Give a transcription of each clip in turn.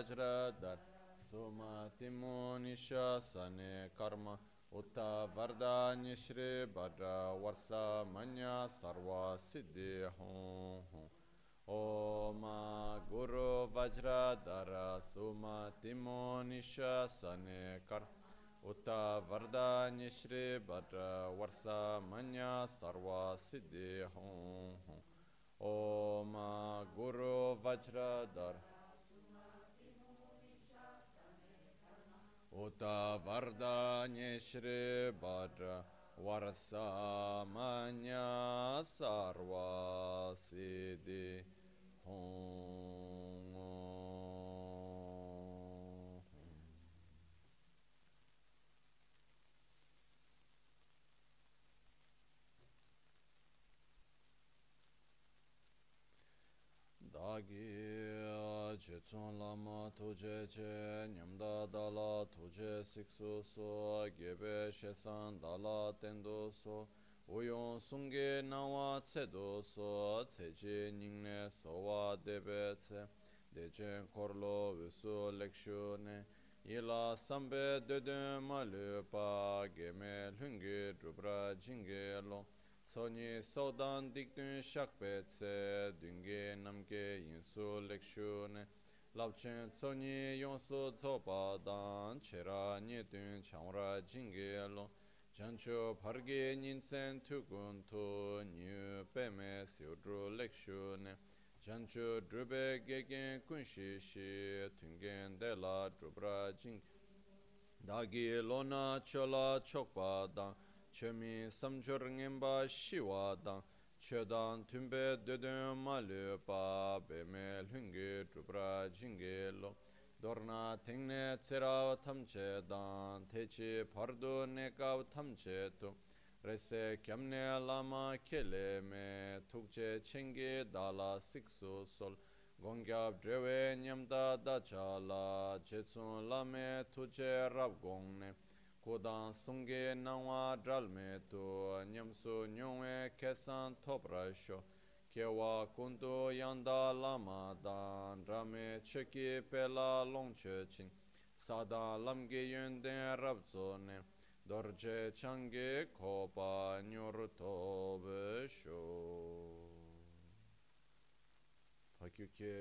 Vajradar Sumati Munisha Sane Karma Uta Vardanya Shri Bhadra Varsa Manya Sarva Siddhi Hum Om Guru Vajradhara Sumati Munisha Sane Karma Uta Vardanya Shri Bhadra Varsa Manya Sarva Siddhi Hum Om Guru Vajradhara Uta Vardanya Shri Bhadra Varsa Manya Sarva Siddhi Hum. Dagi Jetsun Lama Tuje Che Nyamda Dala Tuje Siksu So Gebe Shesan Dala Tendo So Uyon Sunge Nawa Tsedo So Tseji Ningne Sowa Debe Tse Dejen Korlo Visu Lekshune Ila Sambe Dede Malupa Geme Lungi Drubra Jingelo Soni Sodan Dikdun Shakpe Tse Dunge Namge Yinsu Lekshune Lapchen Soni Yonsu Tsopa Dan Chera Nyedun Chanra Jingelo Jancho Parge Ninsen Tukun Tu Nyu Peme Siudru Lekshune Jancho Drube Gegen Kunshi Shi Tungen Dela Drubra Jing Dagi Lona Chola Chokpa Dan Chemi Samchur Ngemba Shiwa Dan Chodan Tumbe Dödön Malu Pa Beme Lungi Drubra Jingelo Dorna Tengne Tsera Tamche Dan Techi Pardu Nekav Tamche Tu Rese Kyamne Lama Kele Me Tukche Chengi Dala Siksu Sol Gongyab Drewe Nyamda Dachala Chetsun Lame Tuche Rabgongne Kodan Sungge Nangwa Dralme Tu Nyamsu Nyongwe Kesan Toprasho Kewa Kundu Yanda Lama Dan Rame Cheki Pela Longche Chin Sada Lamge Yönden Rabzone Dorje Change Kopa Nyurto Besho Pakyuke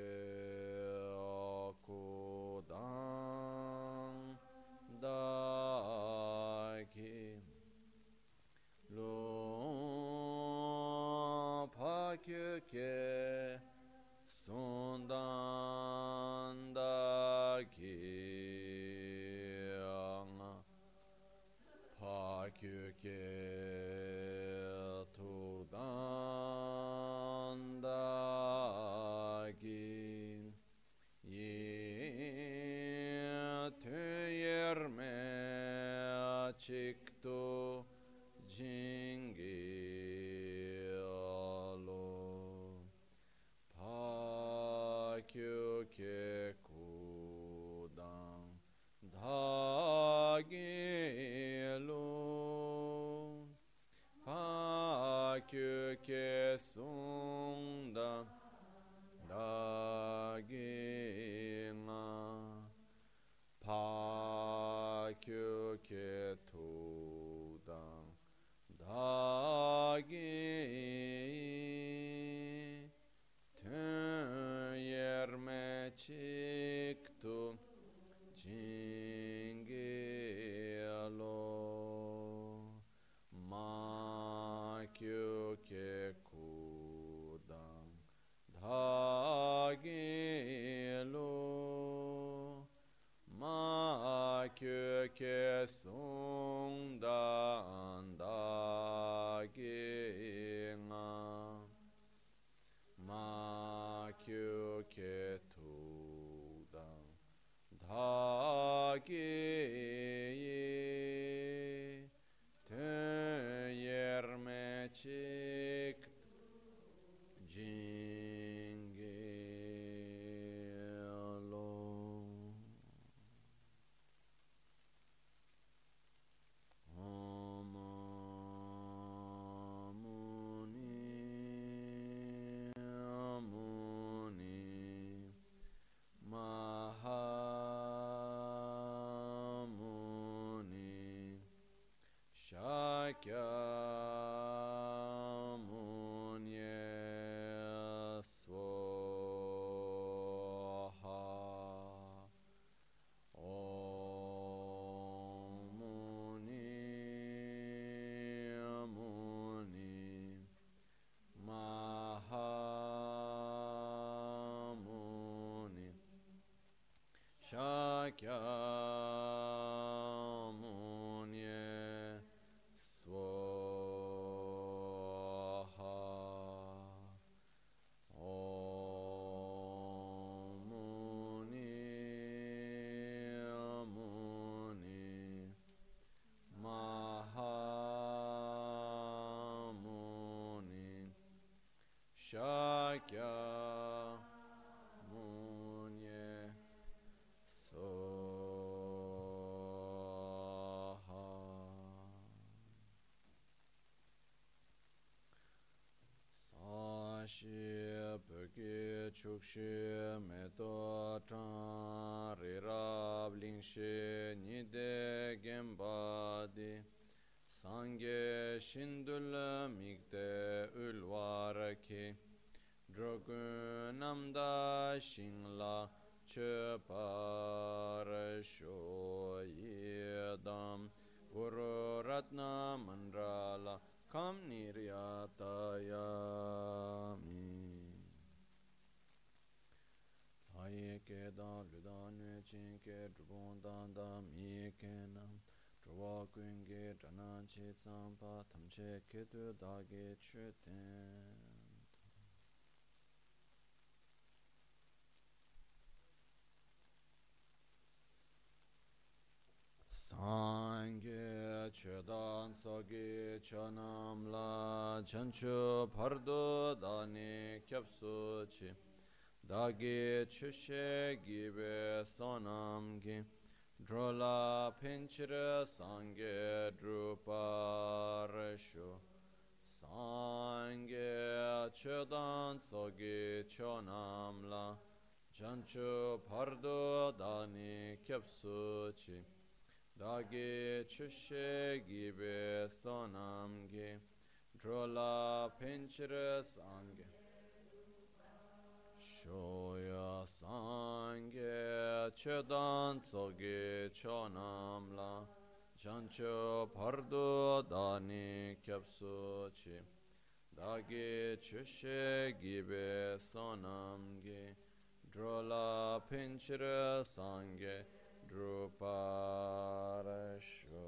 Akudan Daki Lo Pakyuke Sundan Daki Pakyuke Tudan Daki Yerme Chikto Jingelo Pakyuke Kudan Dagelo Pakyuke Sundan Dagina Pakyuke Tudan Dagi Yerme Chiktu Jingelo Makyuke Kudan Dagelo Makyuke Sundan Dagina Makyuke Tudan Dagi Yerme Chik Jingelo Om Muni Muni Maha Munye Swaha. Om Muni Mahamuni Shakya Munye Soha. Sashi Peke Chukshi Meto Chan Rirab Lingshe Nide Gembadi Sangye Shindul Mikte Ulwaraki Drogun Namda Shingla Cheparasho Yedam Guru Ratna Mandrala Kam Niryatayami. Aye ke dan ludan ne chin ke drubon dan da mi ke nam drwa kun ge dranan che tsampa tam che ke tu da ge che ten. Sangye chedan sagi chanam la chanchu pardo dani kyapsu chi dagi chushe gibe sonam gi drola pinchira sangye druparashu sangye chedan sagi chanam la chanchu pardo dani kyapsu chi Dagi chushe gibe sonam gi drola pinchira sangye shoya sangye chedan tsoge chonam la jancho pardo dani kyapsu chi dagi chushe gibe sonam gi drola pinchira sangye Druparasho.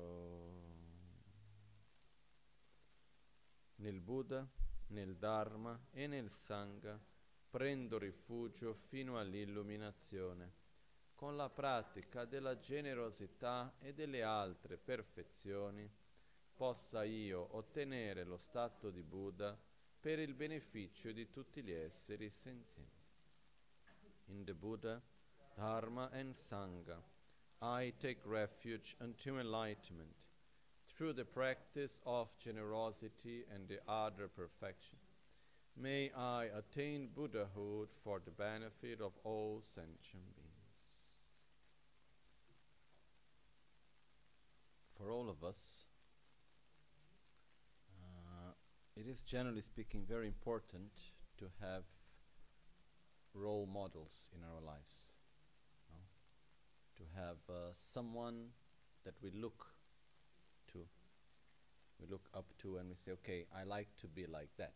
Nel Buddha, nel Dharma e nel Sangha prendo rifugio fino all'illuminazione. Con la pratica della generosità e delle altre perfezioni possa io ottenere lo stato di Buddha per il beneficio di tutti gli esseri senzienti. In the Buddha, Dharma and Sangha, I take refuge unto enlightenment through the practice of generosity and the other perfection. May I attain Buddhahood for the benefit of all sentient beings. For all of us, it is generally speaking very important to have role models in our lives. To have someone that we look up to, and we say, okay, I like to be like that.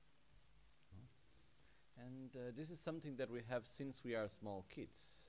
And this is something that we have since we are small kids.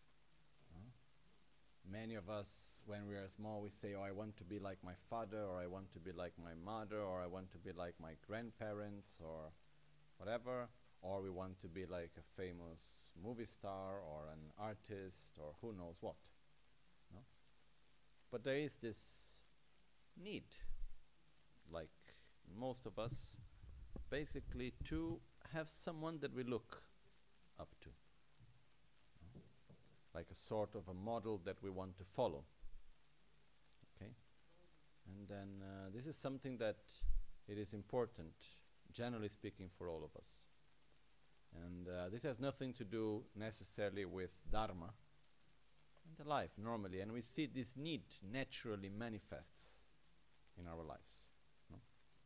Many of us, when we are small, we say, oh, I want to be like my father, or I want to be like my mother, or I want to be like my grandparents, or whatever. Or we want to be like a famous movie star or an artist or who knows what. No? But there is this need, like most of us, basically to have someone that we look up to. No? Like a sort of a model that we want to follow. Okay? And then this is something that it is important, generally speaking, for all of us. And this has nothing to do necessarily with Dharma and the life normally. And we see this need naturally manifests in our lives. No?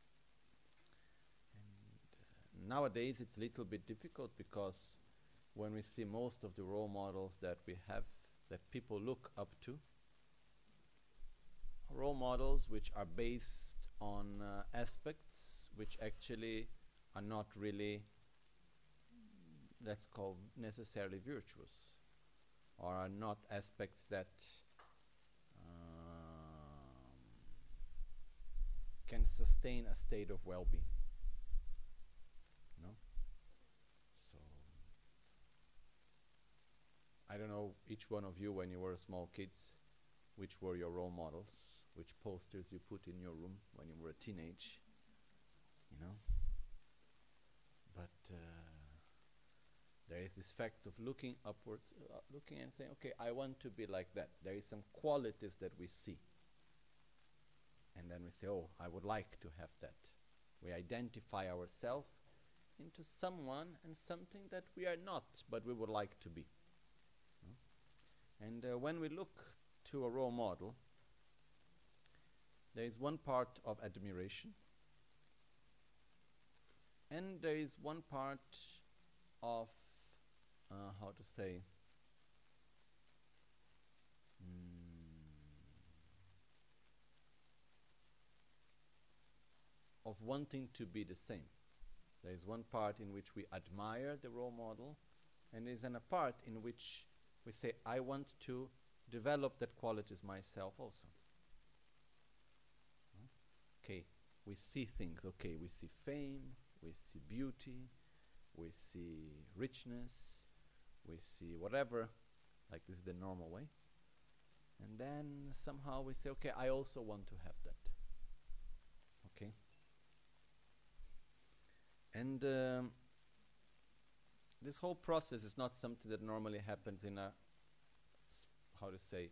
And nowadays it's a little bit difficult because when we see most of the role models that we have, that people look up to, role models which are based on aspects which actually are not really, let's call, necessarily virtuous, or are not aspects that can sustain a state of well-being. You know? So I don't know, each one of you when you were small kids, which were your role models, which posters you put in your room when you were a teenage, you know. But there is this fact of looking upwards, looking and saying, okay, I want to be like that. There is some qualities that we see. And then we say, oh, I would like to have that. We identify ourselves into someone and something that we are not, but we would like to be. And when we look to a role model, there is one part of admiration, and there is one part of, how to say, of wanting to be the same. There is one part in which we admire the role model, and there is a part in which we say, I want to develop that qualities myself also. Okay, we see things, okay, we see fame, we see beauty, we see richness, we see whatever, like this is the normal way. And then somehow we say, okay, I also want to have that. Okay? And this whole process is not something that normally happens in a, how to say,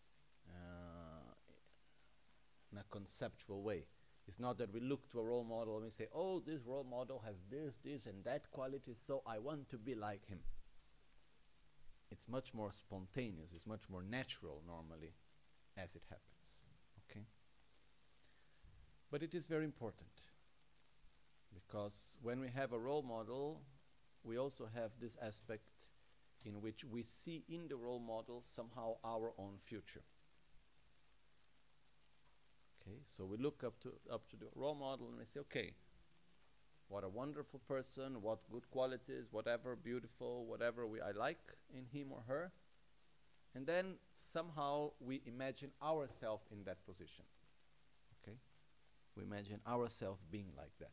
in a conceptual way. It's not that we look to a role model and we say, oh, this role model has this, and that quality, so I want to be like him. It's much more spontaneous, it's much more natural normally as it happens. Okay? But it is very important, because when we have a role model, we also have this aspect in which we see in the role model somehow our own future. Okay, so we look up to the role model and we say, okay, what a wonderful person, what good qualities, whatever, beautiful, whatever I like in him or her. And then somehow we imagine ourselves in that position. Okay? We imagine ourselves being like that.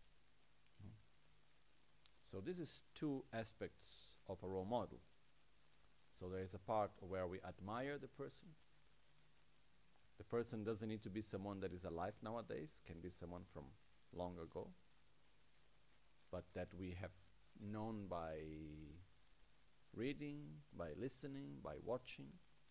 So this is two aspects of a role model. So there is a part where we admire the person. The person doesn't need to be someone that is alive nowadays, can be someone from long ago, but that we have known by reading, by listening, by watching.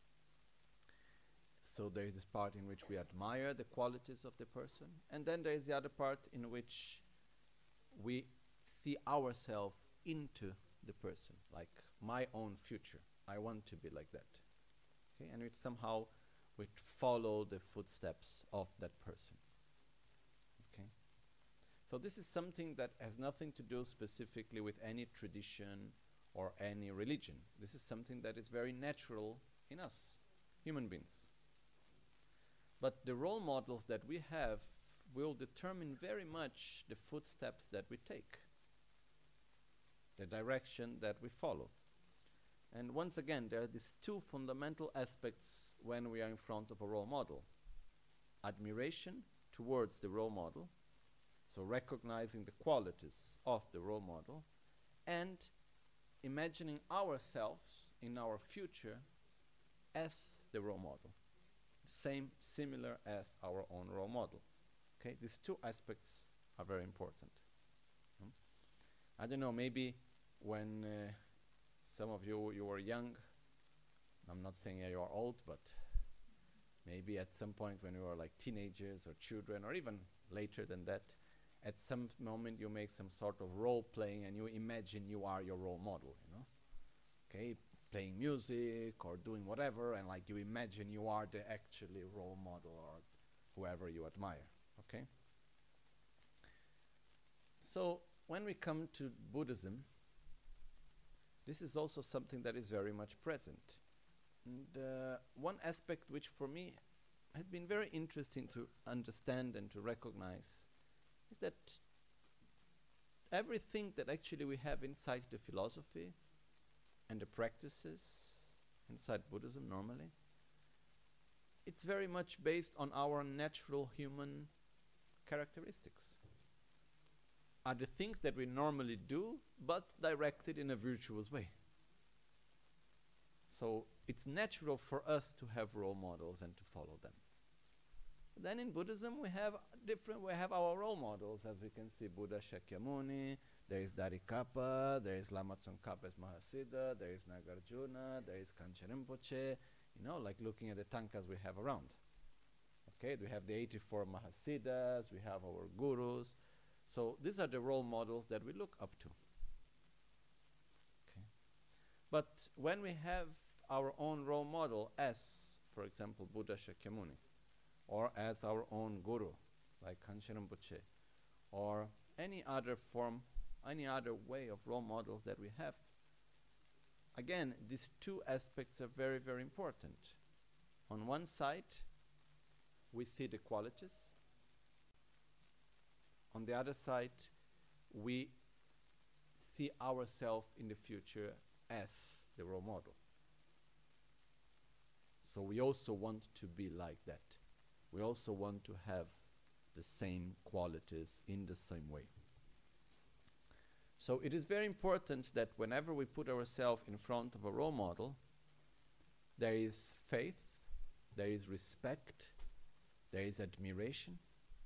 So there is this part in which we admire the qualities of the person, and then there is the other part in which we see ourselves into the person, like my own future. I want to be like that. Okay, and it's somehow we follow the footsteps of that person. Okay, so this is something that has nothing to do specifically with any tradition or any religion. This is something that is very natural in us, human beings. But the role models that we have will determine very much the footsteps that we take, the direction that we follow. And once again, there are these two fundamental aspects when we are in front of a role model. Admiration towards the role model, so recognizing the qualities of the role model, and imagining ourselves in our future as the role model, similar as our own role model. Okay, these two aspects are very important. I don't know, maybe when some of you were young, I'm not saying you are old, but maybe at some point when you were like teenagers or children, or even later than that, at some moment you make some sort of role playing and you imagine you are your role model, you know? Okay, playing music or doing whatever, and like you imagine you are the actually role model or whoever you admire, okay? So when we come to Buddhism, this is also something that is very much present. And one aspect which for me has been very interesting to understand and to recognize is that everything that actually we have inside the philosophy and the practices inside Buddhism normally, it's very much based on our natural human characteristics. Are the things that we normally do, but directed in a virtuous way. So it's natural for us to have role models and to follow them. Then in Buddhism we have our role models, as we can see Buddha Shakyamuni, there is Dharikapa, there is Lama Tsongkhapa's Mahasiddha, there is Nagarjuna, there is Kanchen Rinpoche, like looking at the tankas we have around. Okay, we have the 84 Mahasiddhas, we have our gurus. So these are the role models that we look up to. Okay. But when we have our own role model as, for example, Buddha Shakyamuni, or as our own guru, like Kanchen Rinpoche, or any other form, any other way of role models that we have, again, these two aspects are very, very important. On one side, we see the qualities. On the other side, we see ourselves in the future as the role model. So we also want to be like that. We also want to have the same qualities in the same way. So it is very important that whenever we put ourselves in front of a role model, there is faith, there is respect, there is admiration,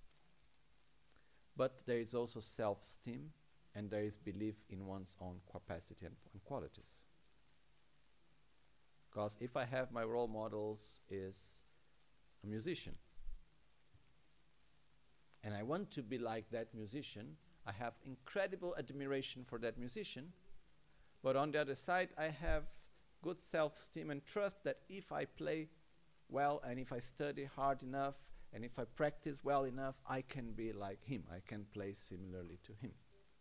but there is also self-esteem, and there is belief in one's own capacity and qualities. Because if I have my role models is a musician, and I want to be like that musician, I have incredible admiration for that musician, but on the other side I have good self-esteem and trust that if I play well and if I study hard enough and if I practice well enough, I can be like him, I can play similarly to him.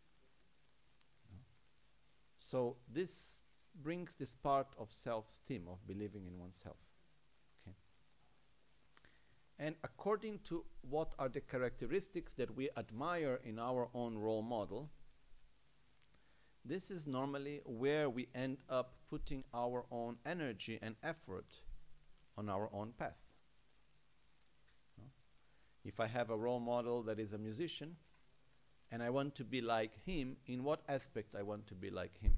So this brings this part of self-esteem, of believing in oneself. Okay. And according to what are the characteristics that we admire in our own role model, this is normally where we end up putting our own energy and effort on our own path. If I have a role model that is a musician, and I want to be like him, in what aspect I want to be like him?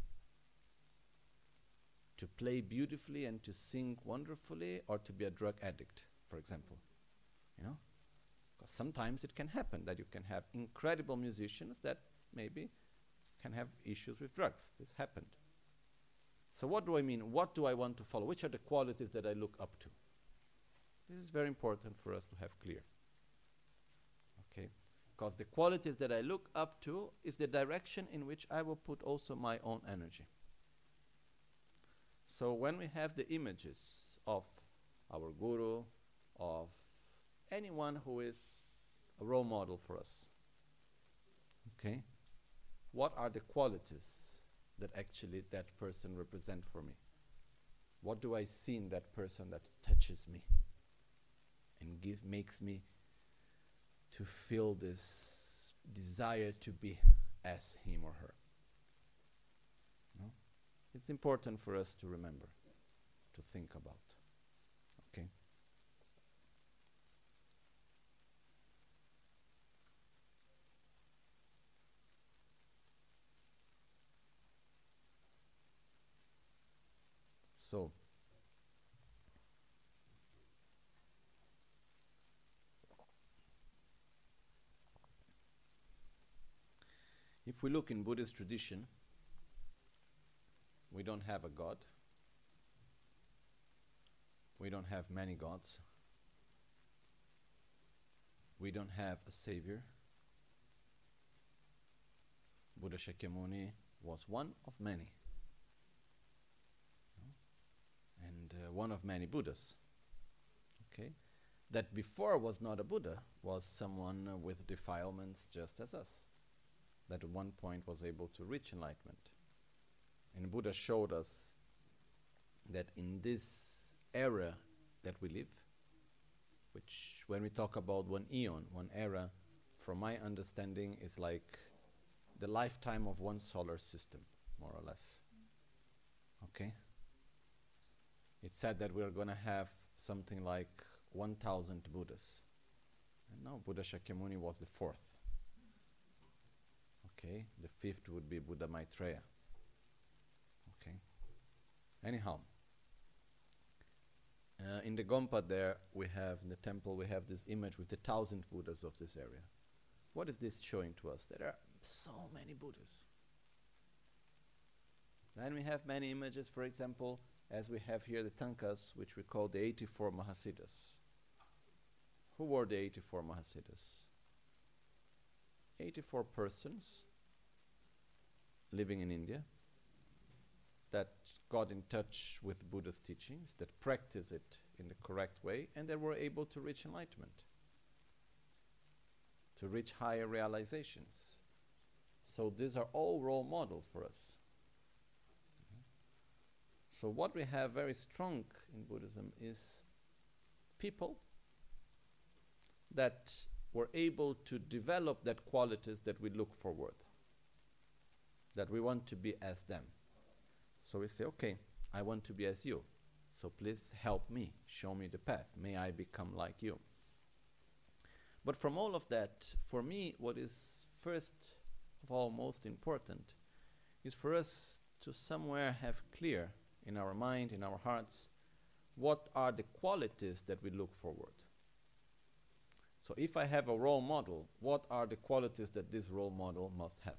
To play beautifully and to sing wonderfully, or to be a drug addict, for example? Because sometimes it can happen that you can have incredible musicians that maybe can have issues with drugs. This happened. So what do I mean? What do I want to follow? Which are the qualities that I look up to? This is very important for us to have clear. Okay? Because the qualities that I look up to is the direction in which I will put also my own energy. So when we have the images of our guru, of anyone who is a role model for us, okay, what are the qualities that actually that person represents for me? What do I see in that person that touches me and makes me to feel this desire to be as him or her? No? It's important for us to remember, to think about. Okay? So, if we look in Buddhist tradition, we don't have a God. We don't have many gods. We don't have a savior. Buddha Shakyamuni was one of many. And one of many Buddhas. Okay? That before was not a Buddha, was someone with defilements just as us. That at one point was able to reach enlightenment. And Buddha showed us that in this era that we live, which when we talk about one eon, one era, from my understanding is like the lifetime of one solar system, more or less. Okay? said that we're going to have something like 1,000 Buddhas. And now Buddha Shakyamuni was the fourth. Okay, the fifth would be Buddha Maitreya. Okay. Anyhow, in the Gompa there, we have, in the temple, we have this image with the 1,000 Buddhas of this area. What is this showing to us? There are so many Buddhas. Then we have many images, for example, as we have here the Tankas, which we call the 84 Mahasiddhas. Who were the 84 Mahasiddhas? 84 persons living in India that got in touch with Buddha's teachings, that practice it in the correct way, and that were able to reach enlightenment, to reach higher realizations. So these are all role models for us. So what we have very strong in Buddhism is people that were able to develop that qualities that we look forward, that we want to be as them. So we say, okay, I want to be as you, so please help me, show me the path, may I become like you. But from all of that, for me, what is first of all most important is for us to somewhere have clear in our mind, in our hearts, what are the qualities that we look forward. So if I have a role model, what are the qualities that this role model must have?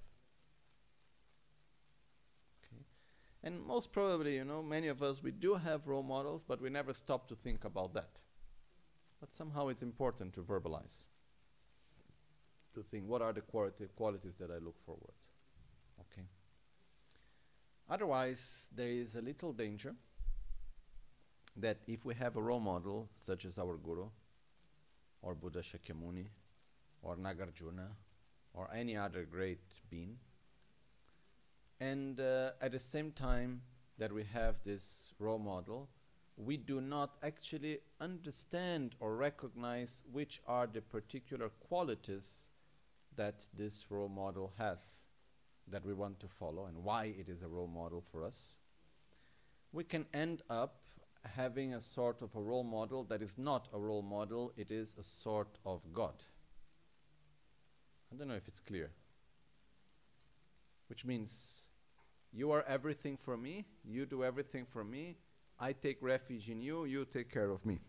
Okay. And most probably, you know, many of us, we do have role models, but we never stop to think about that. But somehow it's important to verbalize, to think, what are the qualities that I look forward? Okay. Otherwise, there is a little danger that if we have a role model, such as our Guru, or Buddha Shakyamuni, or Nagarjuna, or any other great being, and at the same time that we have this role model, we do not actually understand or recognize which are the particular qualities that this role model has, that we want to follow, and why it is a role model for us, we can end up having a sort of a role model that is not a role model, it is a sort of God. I don't know if it's clear. Which means, you are everything for me, you do everything for me, I take refuge in you, you take care of me.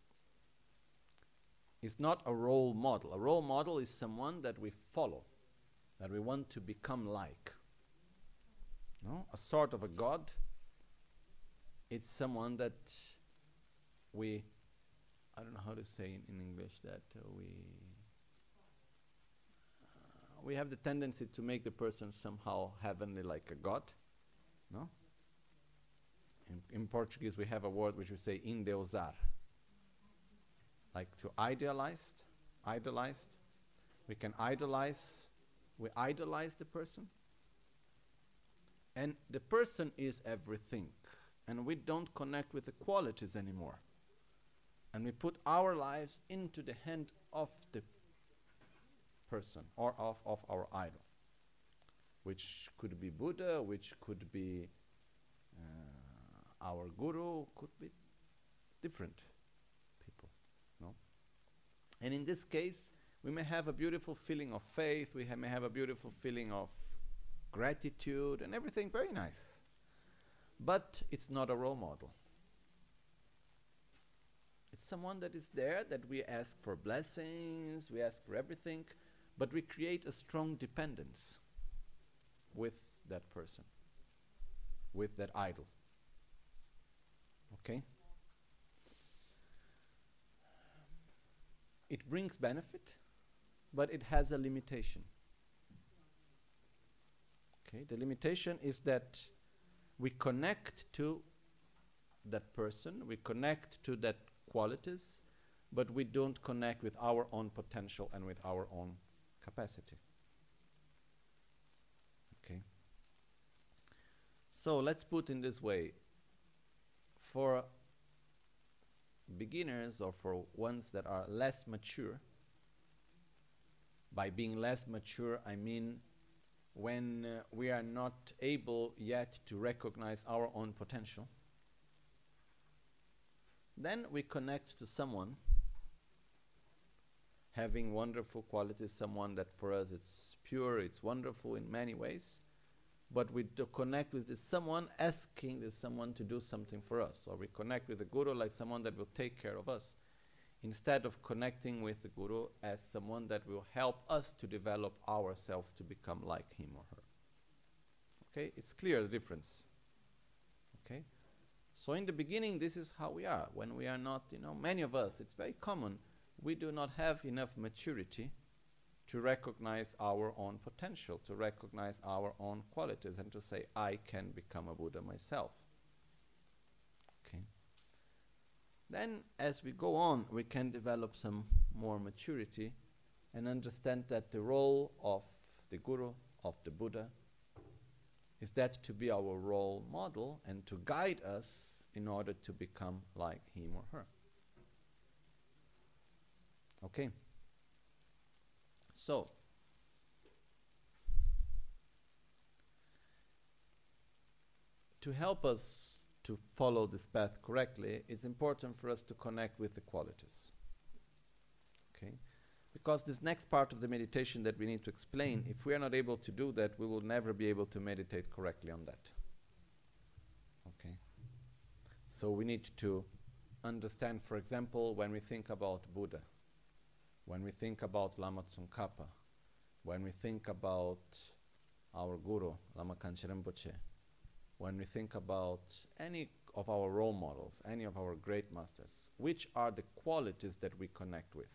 It's not a role model. A role model is someone that we follow, that we want to become like. No? A sort of a God, it's someone that we, I don't know how to say in English that we have the tendency to make the person somehow heavenly, like a God. No? In Portuguese we have a word which we say endeusar, like to idolize. We can idolize. We idolize the person, and the person is everything, and we don't connect with the qualities anymore, and we put our lives into the hand of the person or of our idol, which could be Buddha, which could be our Guru, could be different people, no? And in this case, we may have a beautiful feeling of faith, we may have a beautiful feeling of gratitude and everything very nice. But it's not a role model. It's someone that is there, that we ask for blessings, we ask for everything, but we create a strong dependence with that person, with that idol. Okay? It brings benefit, but it has a limitation. Okay? The limitation is that we connect to that person, we connect to that qualities, but we don't connect with our own potential and with our own capacity. Okay? So let's put in this way. For beginners or for ones that are less mature, by being less mature I mean when we are not able yet to recognize our own potential, then we connect to someone having wonderful qualities, someone that for us it's pure, it's wonderful in many ways, but we do connect with this someone asking this someone to do something for us, or we connect with the Guru like someone that will take care of us, instead of connecting with the Guru as someone that will help us to develop ourselves to become like him or her. Okay, it's clear the difference. Okay, so in the beginning this is how we are. When we are not, many of us, it's very common, we do not have enough maturity to recognize our own potential, to recognize our own qualities, and to say, I can become a Buddha myself. Okay. Then, as we go on, we can develop some more maturity and understand that the role of the Guru, of the Buddha, is that to be our role model and to guide us in order to become like him or her. Okay. So, to help us to follow this path correctly, it's important for us to connect with the qualities. Okay? Because this next part of the meditation that we need to explain, if we are not able to do that, we will never be able to meditate correctly on that. Okay? So we need to understand, for example, when we think about Buddha, when we think about Lama Tsongkhapa, when we think about our Guru, Lama Kanchen Rinpoche, when we think about any of our role models, any of our great masters, which are the qualities that we connect with?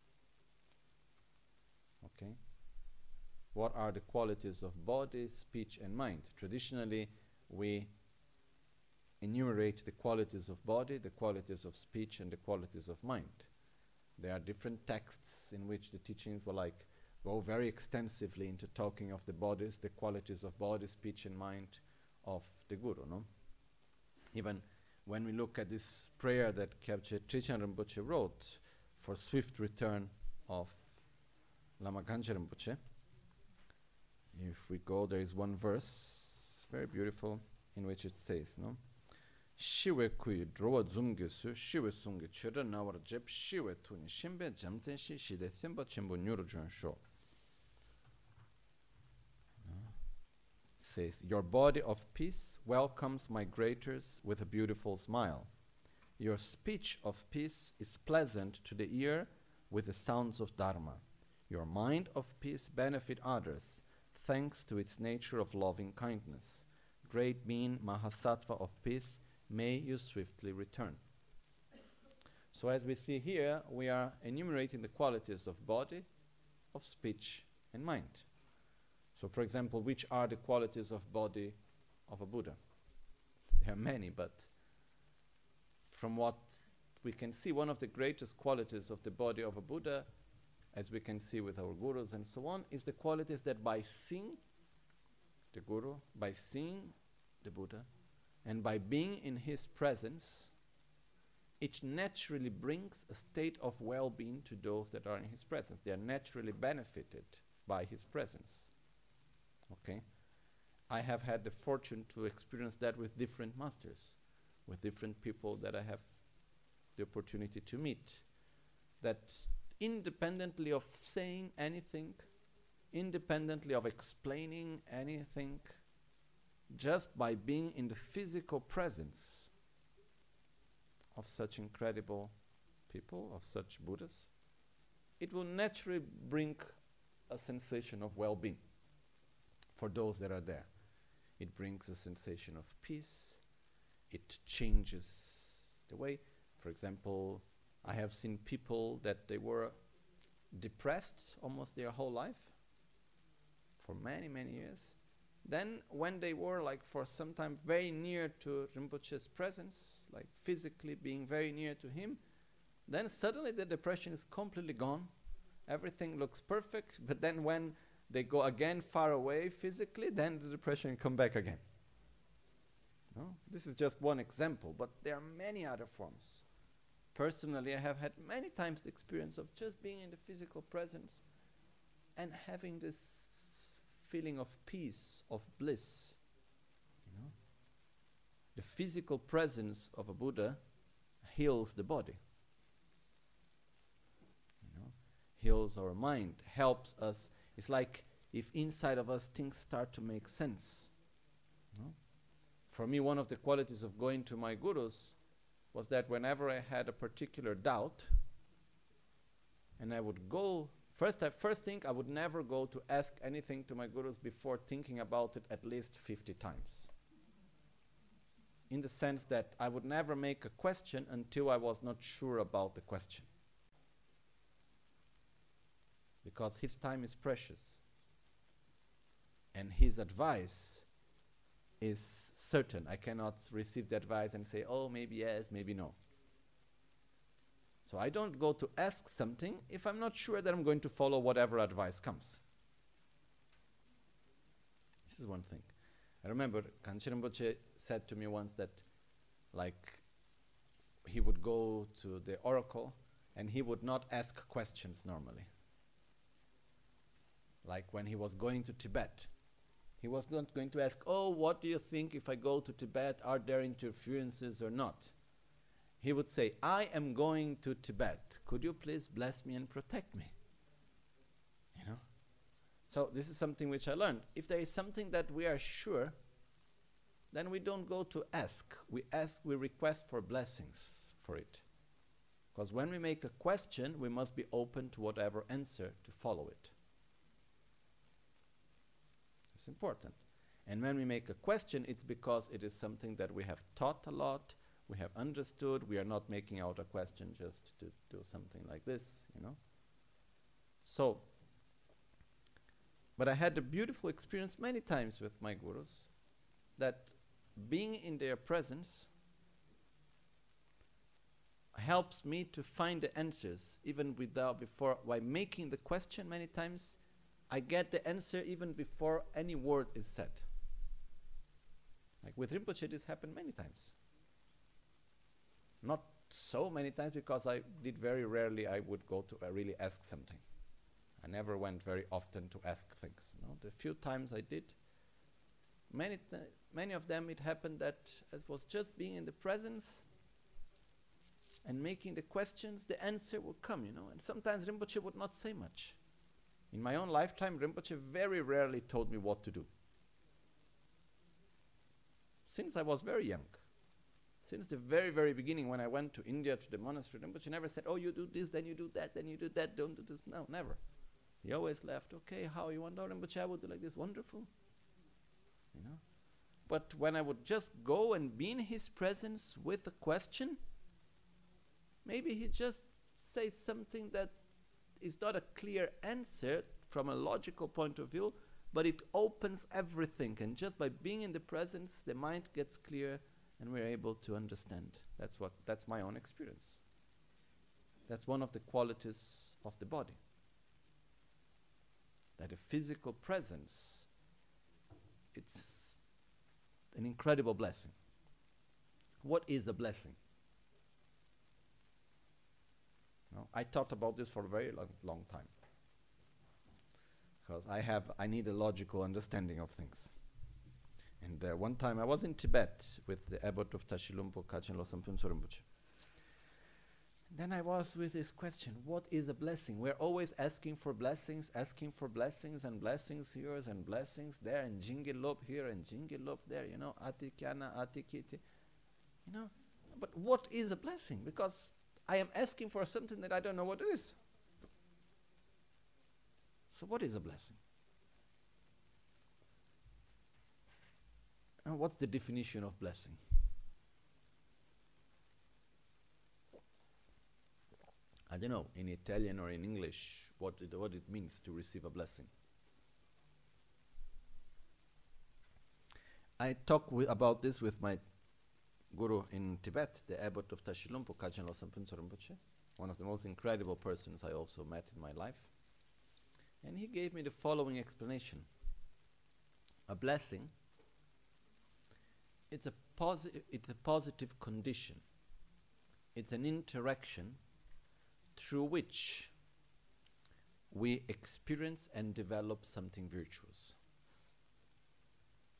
Okay? What are the qualities of body, speech, and mind? Traditionally, we enumerate the qualities of body, the qualities of speech, and the qualities of mind. There are different texts in which the teachings will go very extensively into talking of the bodies, the qualities of body, speech, and mind of the Guru, no? Even when we look at this prayer that Kyabche Trichan Rinpoche wrote for swift return of Lama Kanchen Rinpoche, if we go, there is one verse, very beautiful, in which it says, no? Shiwe kui drowa zumge su, shiwe sunge chira nawar jeb, shiwe tuni shimbe jamsen shi, shide simba chimbo nyurujun sho. Says, your body of peace welcomes migrators with a beautiful smile. Your speech of peace is pleasant to the ear with the sounds of Dharma. Your mind of peace benefit others, thanks to its nature of loving kindness. Great being Mahasattva of peace, may you swiftly return. So as we see here, we are enumerating the qualities of body, of speech, and mind. So for example, which are the qualities of body of a Buddha? There are many, but from what we can see, one of the greatest qualities of the body of a Buddha, as we can see with our gurus and so on, is the qualities that by seeing the Guru, by seeing the Buddha, and by being in his presence, it naturally brings a state of well-being to those that are in his presence. They are naturally benefited by his presence. Okay? I have had the fortune to experience that with different masters, with different people that I have the opportunity to meet, that independently of saying anything, independently of explaining anything, just by being in the physical presence of such incredible people, of such Buddhas, it will naturally bring a sensation of well-being for those that are there. It brings a sensation of peace. It changes the way. For example, I have seen people that they were depressed almost their whole life, for many, many years. Then when they were for some time very near to Rinpoche's presence, physically being very near to him, then suddenly the depression is completely gone. Everything looks perfect, but then when they go again far away physically, then the depression come back again. No? This is just one example, but there are many other forms. Personally, I have had many times the experience of just being in the physical presence and having this feeling of peace, of bliss. The physical presence of a Buddha heals the body. You know, heals our mind, helps us. It's like if inside of us things start to make sense. You know? For me, one of the qualities of going to my gurus was that whenever I had a particular doubt, and I would go, first thing, I would never go to ask anything to my gurus before thinking about it at least 50 times. In the sense that I would never make a question until I was not sure about the question. Because his time is precious. And his advice is certain. I cannot receive the advice and say, oh, maybe yes, maybe no. So I don't go to ask something if I'm not sure that I'm going to follow whatever advice comes. This is one thing. I remember Kanchen Rinpoche said to me once that, like, he would go to the oracle and he would not ask questions normally. Like when he was going to Tibet, he was not going to ask, oh, what do you think if I go to Tibet? Are there interferences or not? He would say, I am going to Tibet. Could you please bless me and protect me? You know? So this is something which I learned. If there is something that we are sure, then we don't go to ask. We request for blessings for it. Because when we make a question, we must be open to whatever answer to follow it. It's important. And when we make a question, it's because it is something that we have taught a lot, we have understood, we are not making out a question just to do something like this, you know. So, but I had a beautiful experience many times with my gurus, that being in their presence helps me to find the answers, even by making the question many times, I get the answer even before any word is said. Like with Rinpoche, this happened many times. Not so many times, because I did very rarely, I would go to really ask something. I never went very often to ask things. No? The few times I did, many of them it happened that it was just being in the presence and making the questions, the answer would come, you know. And sometimes Rinpoche would not say much. In my own lifetime, Rinpoche very rarely told me what to do. Since I was very young. Since the very, very beginning, when I went to India, to the monastery, Rinpoche never said, oh, you do this, then you do that, then you do that, don't do this. No, never. He always left, okay, how you want? Oh, Rinpoche, I would do like this, wonderful. You know? But when I would just go and be in his presence with a question, maybe he just says something that is not a clear answer from a logical point of view, but it opens everything. And just by being in the presence, the mind gets clear and we're able to understand. That's my own experience. That's one of the qualities of the body. That a physical presence, it's an incredible blessing. What is a blessing? No, I thought about this for a very long time. Because I need a logical understanding of things. And one time I was in Tibet with the abbot of Tashilhunpo, Kachin Losam Phuntsho Rinpoche. Then I was with this question, what is a blessing? We're always asking for blessings and blessings here and blessings there, and Jingilop here and Jingilop there, you know, Atikyana, Atikiti. You know, but what is a blessing? Because I am asking for something that I don't know what it is. So what is a blessing? And what's the definition of blessing? I don't know, in Italian or in English, what it means to receive a blessing. I talked about this with my guru in Tibet, the abbot of Tashilhunpo, Kachin Losam Phuntsho Rinpoche, one of the most incredible persons I also met in my life. And he gave me the following explanation. A blessing, it's a positive condition. It's an interaction through which we experience and develop something virtuous.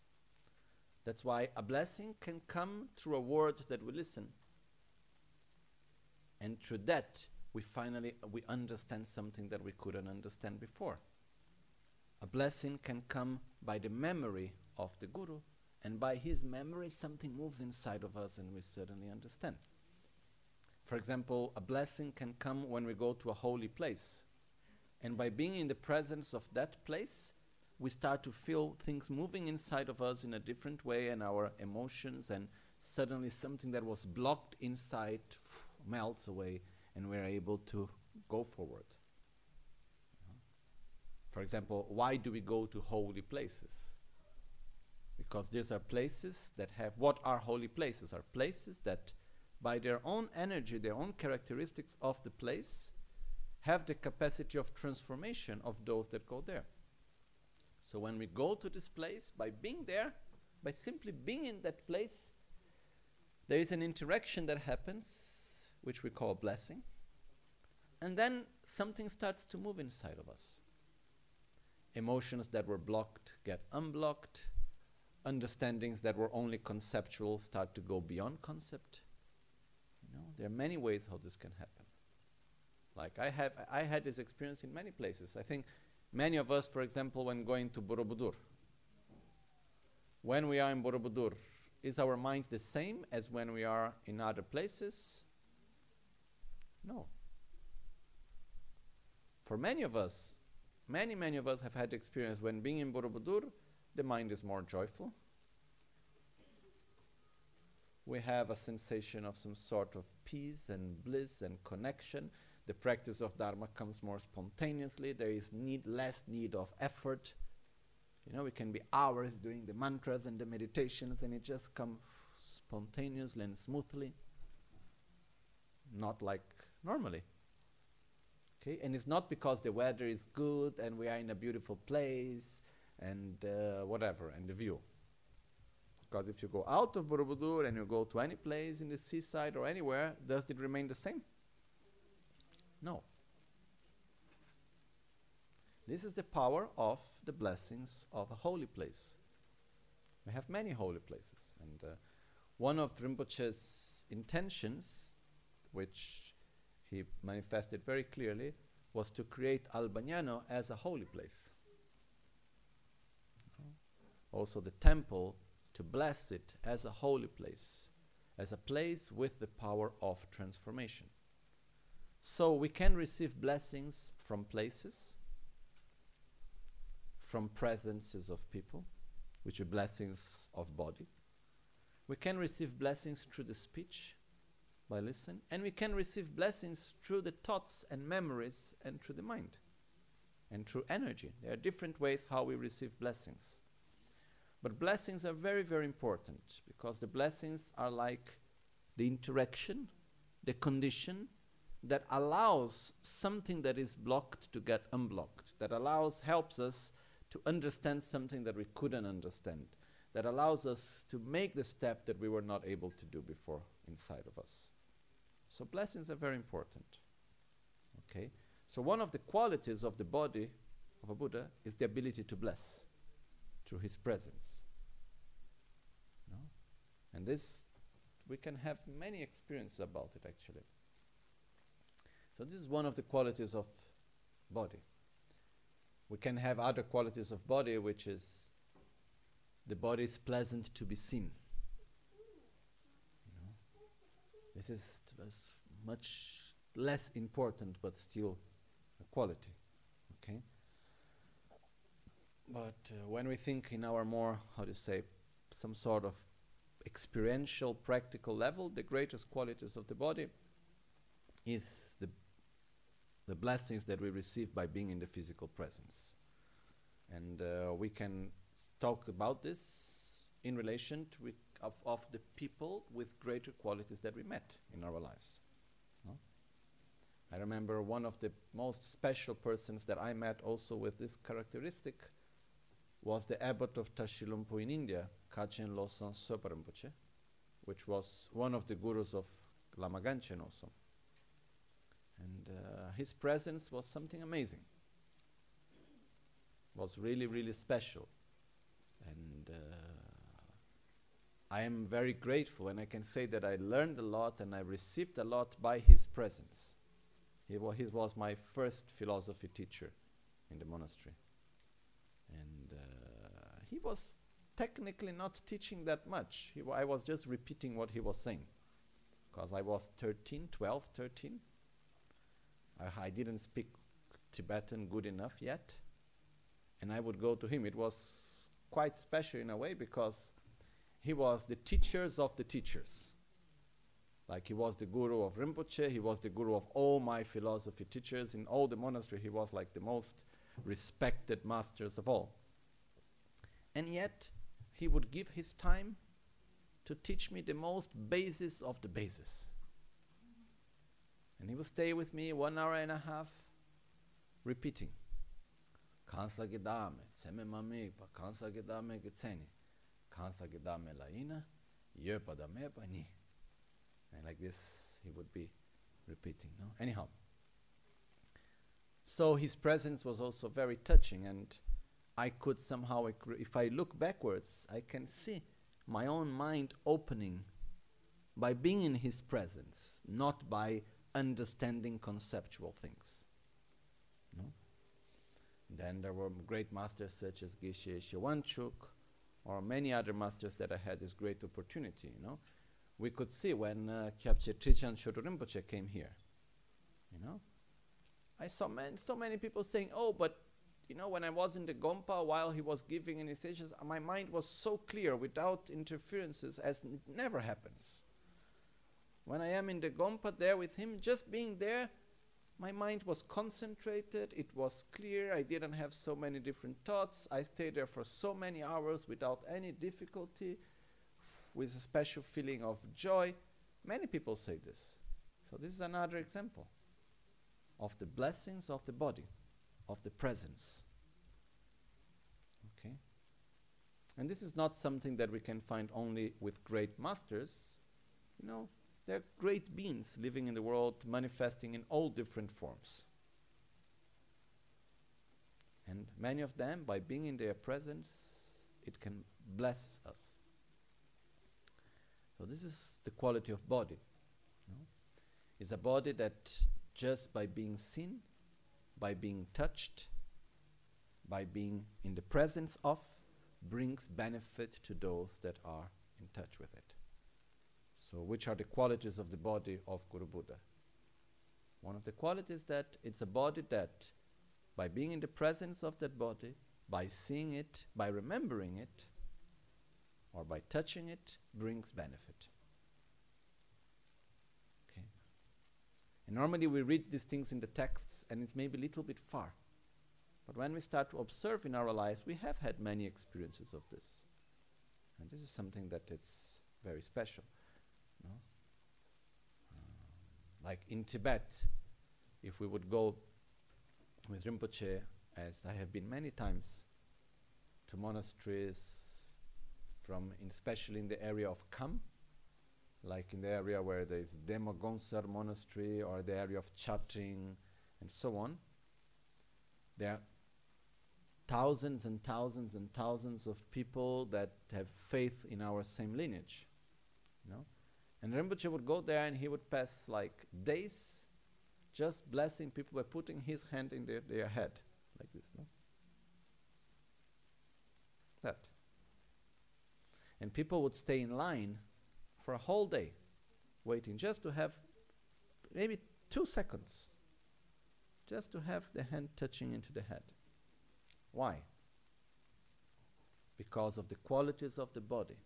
That's why a blessing can come through a word that we listen. And through that, we understand something that we couldn't understand before. A blessing can come by the memory of the Guru, and by his memory something moves inside of us and we suddenly understand. For example, a blessing can come when we go to a holy place. And by being in the presence of that place, we start to feel things moving inside of us in a different way, and our emotions, and suddenly something that was blocked inside melts away and we're able to go forward. For example, why do we go to holy places? Because these are places that have, what are holy places? Are places that by their own energy, their own characteristics of the place, have the capacity of transformation of those that go there. So when we go to this place, by being there, by simply being in that place, there is an interaction that happens, which we call blessing, and then something starts to move inside of us. Emotions that were blocked get unblocked, understandings that were only conceptual start to go beyond concept. You know, there are many ways how this can happen. Like I had this experience in many places. I think many of us, for example, when going to Borobudur, when we are in Borobudur, is our mind the same as when we are in other places? No. For many of us, many of us have had experience when being in Borobudur, the mind is more joyful. We have a sensation of some sort of peace and bliss and connection. The practice of Dharma comes more spontaneously. There is less need of effort. You know, we can be hours doing the mantras and the meditations and it just comes spontaneously and smoothly. Not like normally. Okay? And it's not because the weather is good and we are in a beautiful place and whatever, and the view. Because if you go out of Borobudur and you go to any place in the seaside or anywhere, does it remain the same? No. This is the power of the blessings of a holy place. We have many holy places. And one of Rinpoche's intentions, which he manifested very clearly, was to create Albagnano as a holy place. Also the temple, to bless it as a holy place, as a place with the power of transformation. So we can receive blessings from places, from presences of people, which are blessings of body. We can receive blessings through the speech, by listening, and we can receive blessings through the thoughts and memories and through the mind, and through energy. There are different ways how we receive blessings. But blessings are very, very important, because the blessings are like the interaction, the condition that allows something that is blocked to get unblocked, that helps us to understand something that we couldn't understand, that allows us to make the step that we were not able to do before inside of us. So blessings are very important. Okay? So one of the qualities of the body of a Buddha is the ability to bless through his presence. No? And this, we can have many experiences about it actually. So this is one of the qualities of body. We can have other qualities of body, which is the body is pleasant to be seen. You know? This is much less important, but still a quality. Okay? But when we think in our more, how to say, some sort of experiential, practical level, the greatest qualities of the body is the blessings that we receive by being in the physical presence. And we can talk about this in relation to of the people with greater qualities that we met in our lives. No? I remember one of the most special persons that I met also with this characteristic was the abbot of Tashilhunpo in India, Kachen Losang Sopa Rinpoche, which was one of the gurus of Lama Ganchen also. And his presence was something amazing. Was really, really special. And I am very grateful, and I can say that I learned a lot and I received a lot by his presence. He was my first philosophy teacher in the monastery. And he was technically not teaching that much. I was just repeating what he was saying. Because I was 12, 13. I didn't speak Tibetan good enough yet. And I would go to him. It was quite special in a way because he was the teachers of the teachers. Like he was the guru of Rinpoche, he was the guru of all my philosophy teachers. In all the monastery, he was like the most respected masters of all. And yet, he would give his time to teach me the most basis of the basis. And he would stay with me 1 hour and a half, repeating. Kansa gedame, tseme mamegpa, kansa gedame getseni, kansa gedame laina, yepa dame pani. And like this, he would be repeating. No? Anyhow. So his presence was also very touching, and I could somehow, if I look backwards, I can see my own mind opening by being in his presence, not by understanding conceptual things. No? Then there were great masters such as Geshe Shewanchuk, or many other masters that I had this great opportunity. You know, we could see when Kyabche Trichan Shodo Rinpoche came here. You know, I saw so many people saying, "Oh, but you know, when I was in the Gompa while he was giving initiations, my mind was so clear without interferences as it never happens. When I am in the Gompa there with him, just being there, my mind was concentrated, it was clear, I didn't have so many different thoughts, I stayed there for so many hours without any difficulty, with a special feeling of joy." Many people say this. So this is another example of the blessings of the body, of the presence. Okay? And this is not something that we can find only with great masters. You know, there are great beings living in the world, manifesting in all different forms. And many of them, by being in their presence, it can bless us. So this is the quality of body. No? It's a body that just by being seen, by being touched, by being in the presence of, brings benefit to those that are in touch with it. So which are the qualities of the body of Guru Buddha? One of the qualities that it's a body that, by being in the presence of that body, by seeing it, by remembering it, or by touching it, brings benefit. Okay. And normally we read these things in the texts and it's maybe a little bit far. But when we start to observe in our lives, we have had many experiences of this. And this is something that it's very special. No? Like in Tibet, if we would go with Rinpoche, as I have been many times, to monasteries especially in the area of Kham, like in the area where there is Demogonsar monastery or the area of Chatring and so on, there are thousands and thousands and thousands of people that have faith in our same lineage. You know? And Rinpoche would go there and he would pass like days just blessing people by putting his hand in their head, like this. No? That. And people would stay in line for a whole day, waiting just to have maybe 2 seconds, just to have the hand touching into the head. Why? Because of the qualities of the body.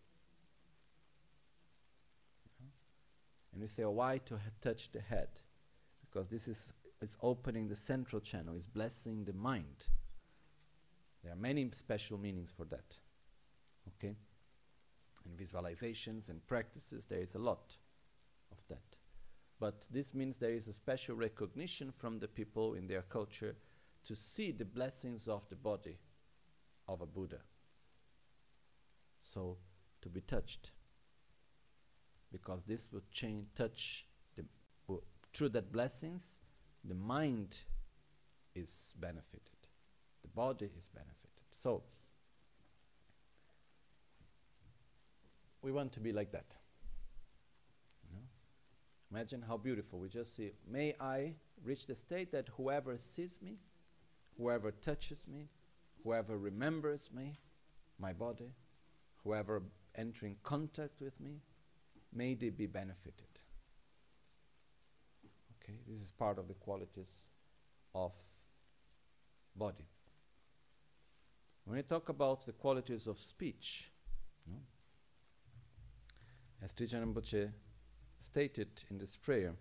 And we say, oh, why to touch the head? Because this is opening the central channel, it's blessing the mind. There are many special meanings for that. Okay? And visualizations and practices, there is a lot of that. But this means there is a special recognition from the people in their culture to see the blessings of the body of a Buddha. So, to be touched. Because this would touch, through that blessings, the mind is benefited. The body is benefited. So, we want to be like that. You know? Imagine how beautiful. We just see, may I reach the state that whoever sees me, whoever touches me, whoever remembers me, my body, whoever entering contact with me, may they be benefited. Okay, this is part of the qualities of body. When we talk about the qualities of speech, no? As Trijang Rinpoche stated in this prayer,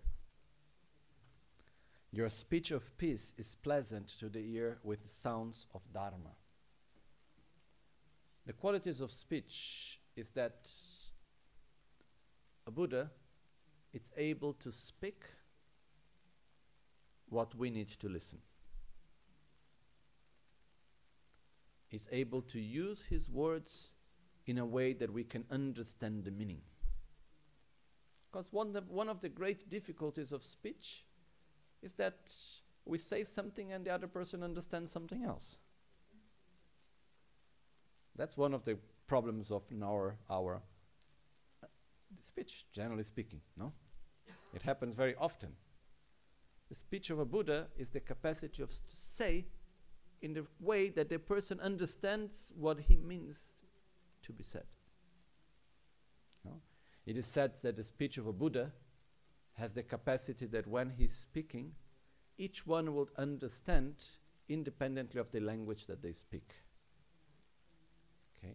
your speech of peace is pleasant to the ear with sounds of Dharma. The qualities of speech is that a Buddha is able to speak what we need to listen. Is able to use his words in a way that we can understand the meaning. Because one of the great difficulties of speech is that we say something and the other person understands something else. That's one of the problems of our speech, generally speaking, no? It happens very often. The speech of a Buddha is the capacity of to say in the way that the person understands what he means to be said. No? It is said that the speech of a Buddha has the capacity that when he's speaking, each one will understand independently of the language that they speak. Okay?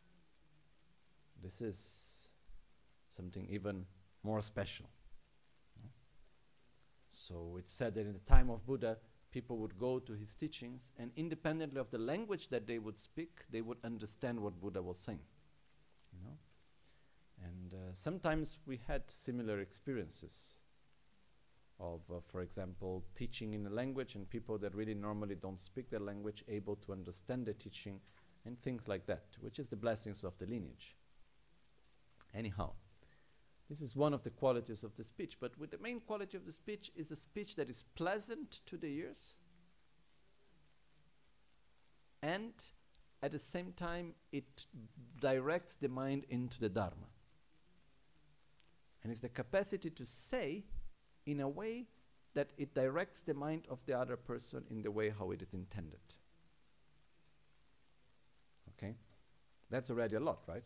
This is something even more special. No? So it's said that in the time of Buddha, people would go to his teachings, and independently of the language that they would speak, they would understand what Buddha was saying. You know? And sometimes we had similar experiences of, for example, teaching in a language and people that really normally don't speak the language able to understand the teaching and things like that, which is the blessings of the lineage. Anyhow, this is one of the qualities of the speech, but with the main quality of the speech is a speech that is pleasant to the ears and at the same time it directs the mind into the Dharma. And it's the capacity to say in a way that it directs the mind of the other person in the way how it is intended. Okay? That's already a lot, right?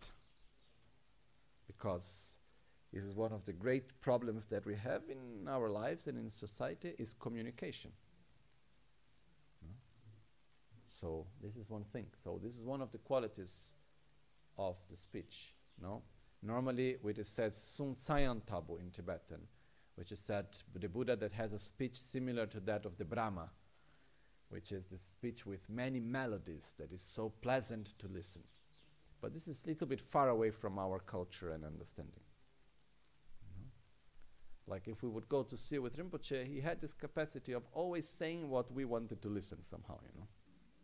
Because this is one of the great problems that we have in our lives and in society is communication. No? So this is one thing. So this is one of the qualities of the speech. No? Normally it is said Sung Tsayan Tabu in Tibetan, which is said the Buddha that has a speech similar to that of the Brahma, which is the speech with many melodies that is so pleasant to listen. But this is a little bit far away from our culture and understanding. Like if we would go to see with Rinpoche, he had this capacity of always saying what we wanted to listen somehow, you know.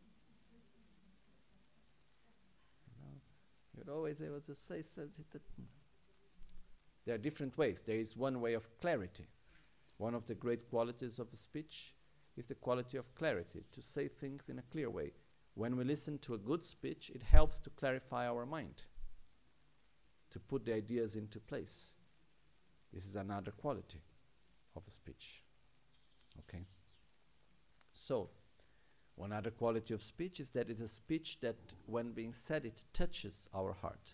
You're always able to say something that there are different ways. There is one way of clarity. One of the great qualities of a speech is the quality of clarity, to say things in a clear way. When we listen to a good speech, it helps to clarify our mind, to put the ideas into place. This is another quality of a speech. Okay? So, one other quality of speech is that it is a speech that, when being said, it touches our heart.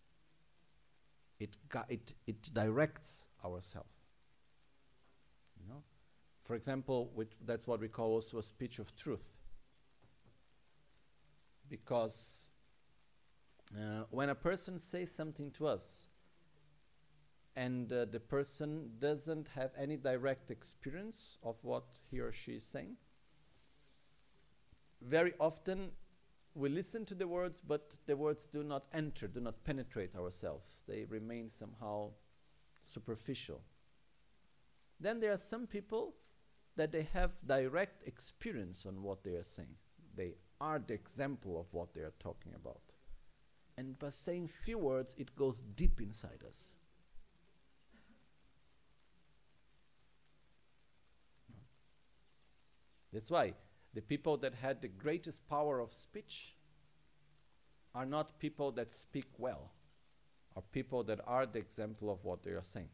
It directs ourselves. You know? For example, that's what we call also a speech of truth. Because when a person says something to us, and the person doesn't have any direct experience of what he or she is saying, very often we listen to the words, but the words do not enter, do not penetrate ourselves. They remain somehow superficial. Then there are some people that they have direct experience on what they are saying. They are the example of what they are talking about. And by saying few words, it goes deep inside us. That's why the people that had the greatest power of speech are not people that speak well, are people that are the example of what they are saying.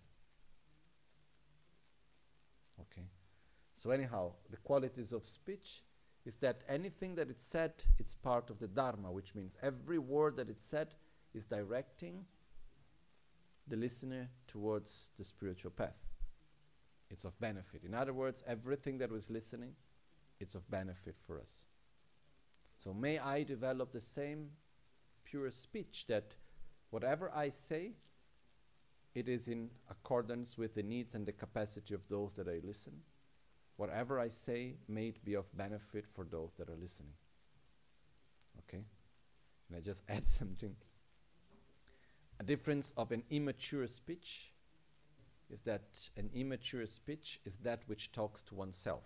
Okay? So anyhow, the qualities of speech is that anything that it's said, it's part of the Dharma, which means every word that it's said is directing the listener towards the spiritual path. It's of benefit. In other words, everything that was listening, it's of benefit for us. So may I develop the same pure speech that whatever I say, it is in accordance with the needs and the capacity of those that I listen. Whatever I say, may it be of benefit for those that are listening. Okay? And I just add something. A difference of an immature speech is that an immature speech is that which talks to oneself.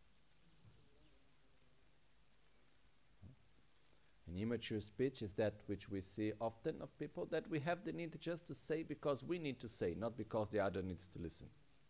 An immature speech is that which we see often of people that we have the need just to say because we need to say, not because the other needs to listen.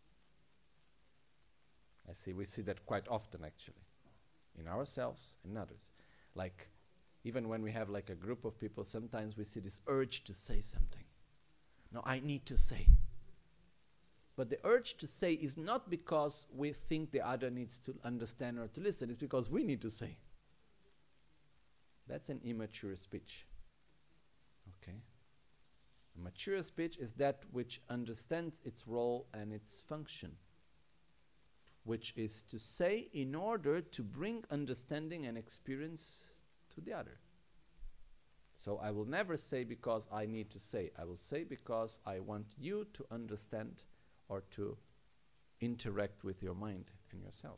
We see that quite often actually, in ourselves and others. Like, even when we have like a group of people, sometimes we see this urge to say something. No, I need to say. But the urge to say is not because we think the other needs to understand or to listen, it's because we need to say. That's an immature speech. Okay? A mature speech is that which understands its role and its function, which is to say in order to bring understanding and experience to the other. So I will never say because I need to say. I will say because I want you to understand or to interact with your mind and yourself.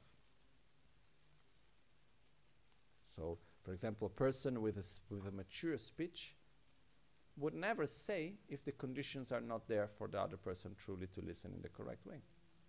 So, for example, a person with a mature speech would never say if the conditions are not there for the other person truly to listen in the correct way.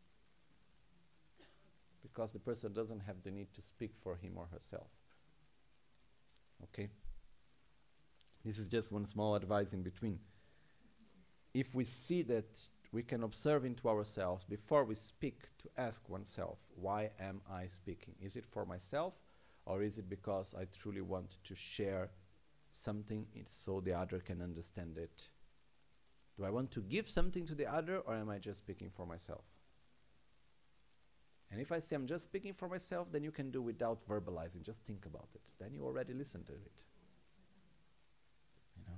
Because the person doesn't have the need to speak for him or herself. Okay? This is just one small advice in between. If we see that we can observe into ourselves before we speak, to ask oneself, why am I speaking? Is it for myself, or is it because I truly want to share something so the other can understand it? Do I want to give something to the other, or am I just speaking for myself? And if I say I'm just speaking for myself, then you can do without verbalizing, just think about it. Then you already listen to it. You know?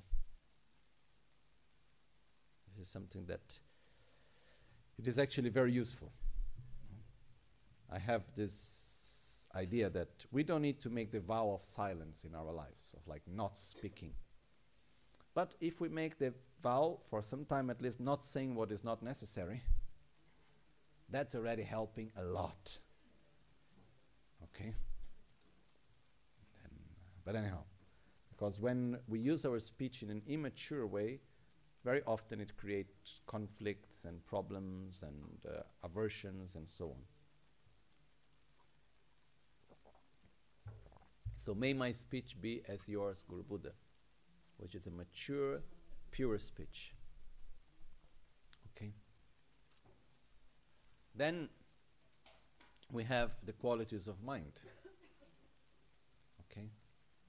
This is something that it is actually very useful. I have this idea that we don't need to make the vow of silence in our lives, of like not speaking. But if we make the vow for some time at least not saying what is not necessary, that's already helping a lot. Okay? But anyhow, because when we use our speech in an immature way, very often it creates conflicts and problems and aversions and so on. So may my speech be as yours, Guru Buddha, which is a mature, pure speech. Okay? Then we have the qualities of mind. Okay?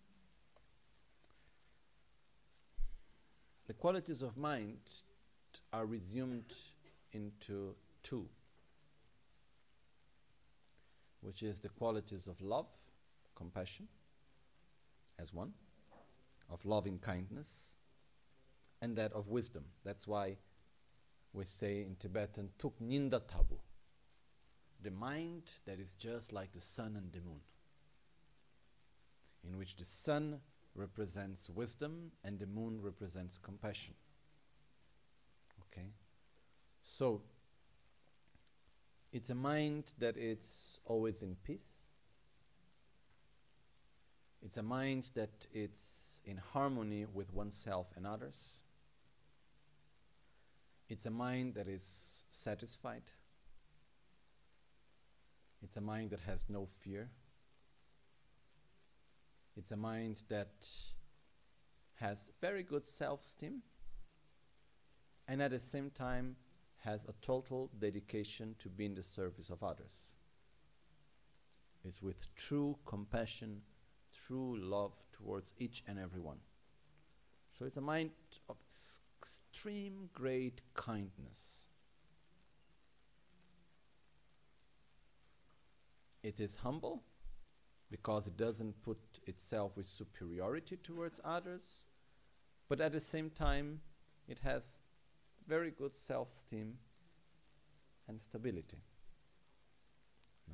The qualities of mind are resumed into two, which is the qualities of love, compassion, as one, of loving kindness, and that of wisdom. That's why we say in Tibetan, Tuk Ninda Tabu, the mind that is just like the sun and the moon, in which the sun represents wisdom and the moon represents compassion. Okay? So, it's a mind that is always in peace. It's a mind that is in harmony with oneself and others. It's a mind that is satisfied. It's a mind that has no fear. It's a mind that has very good self-esteem and at the same time has a total dedication to be in the service of others. It's with true compassion, true love towards each and every one. So it's a mind of extreme great kindness. It is humble because it doesn't put itself with superiority towards others, but at the same time it has very good self-esteem and stability. No?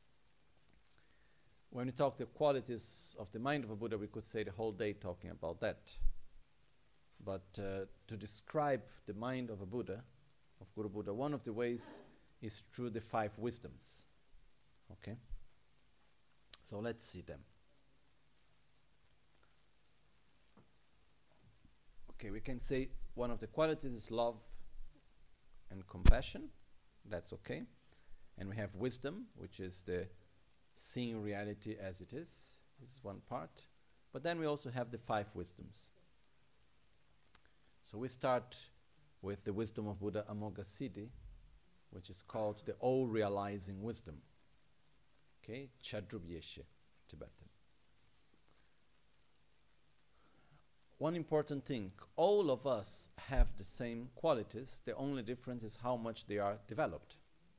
When we talk the qualities of the mind of a Buddha, we could say the whole day talking about that. But to describe the mind of a Buddha, of Guru Buddha, one of the ways is through the 5 wisdoms. Okay? So let's see them. Okay, we can say one of the qualities is love and compassion. That's okay. And we have wisdom, which is the seeing reality as it is. This is one part. But then we also have the 5 wisdoms. So we start with the wisdom of Buddha Amoghasiddhi, which is called the all-realizing wisdom. Okay, Chadrubyeshe, Tibetan. One important thing, all of us have the same qualities, the only difference is how much they are developed.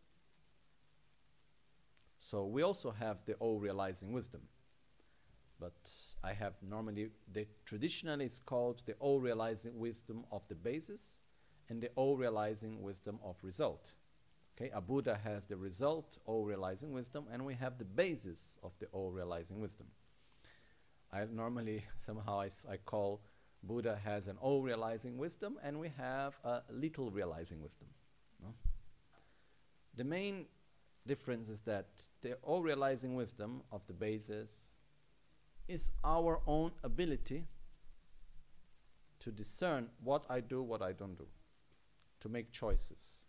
So we also have the all-realizing wisdom. But I have normally, traditionally it's called the all-realizing wisdom of the basis and the all-realizing wisdom of result. Okay, a Buddha has the result, all-realizing wisdom, and we have the basis of the all-realizing wisdom. I normally, somehow I call Buddha has an all-realizing wisdom and we have a little realizing wisdom. No? The main difference is that the all-realizing wisdom of the basis is our own ability to discern what I do, what I don't do, to make choices.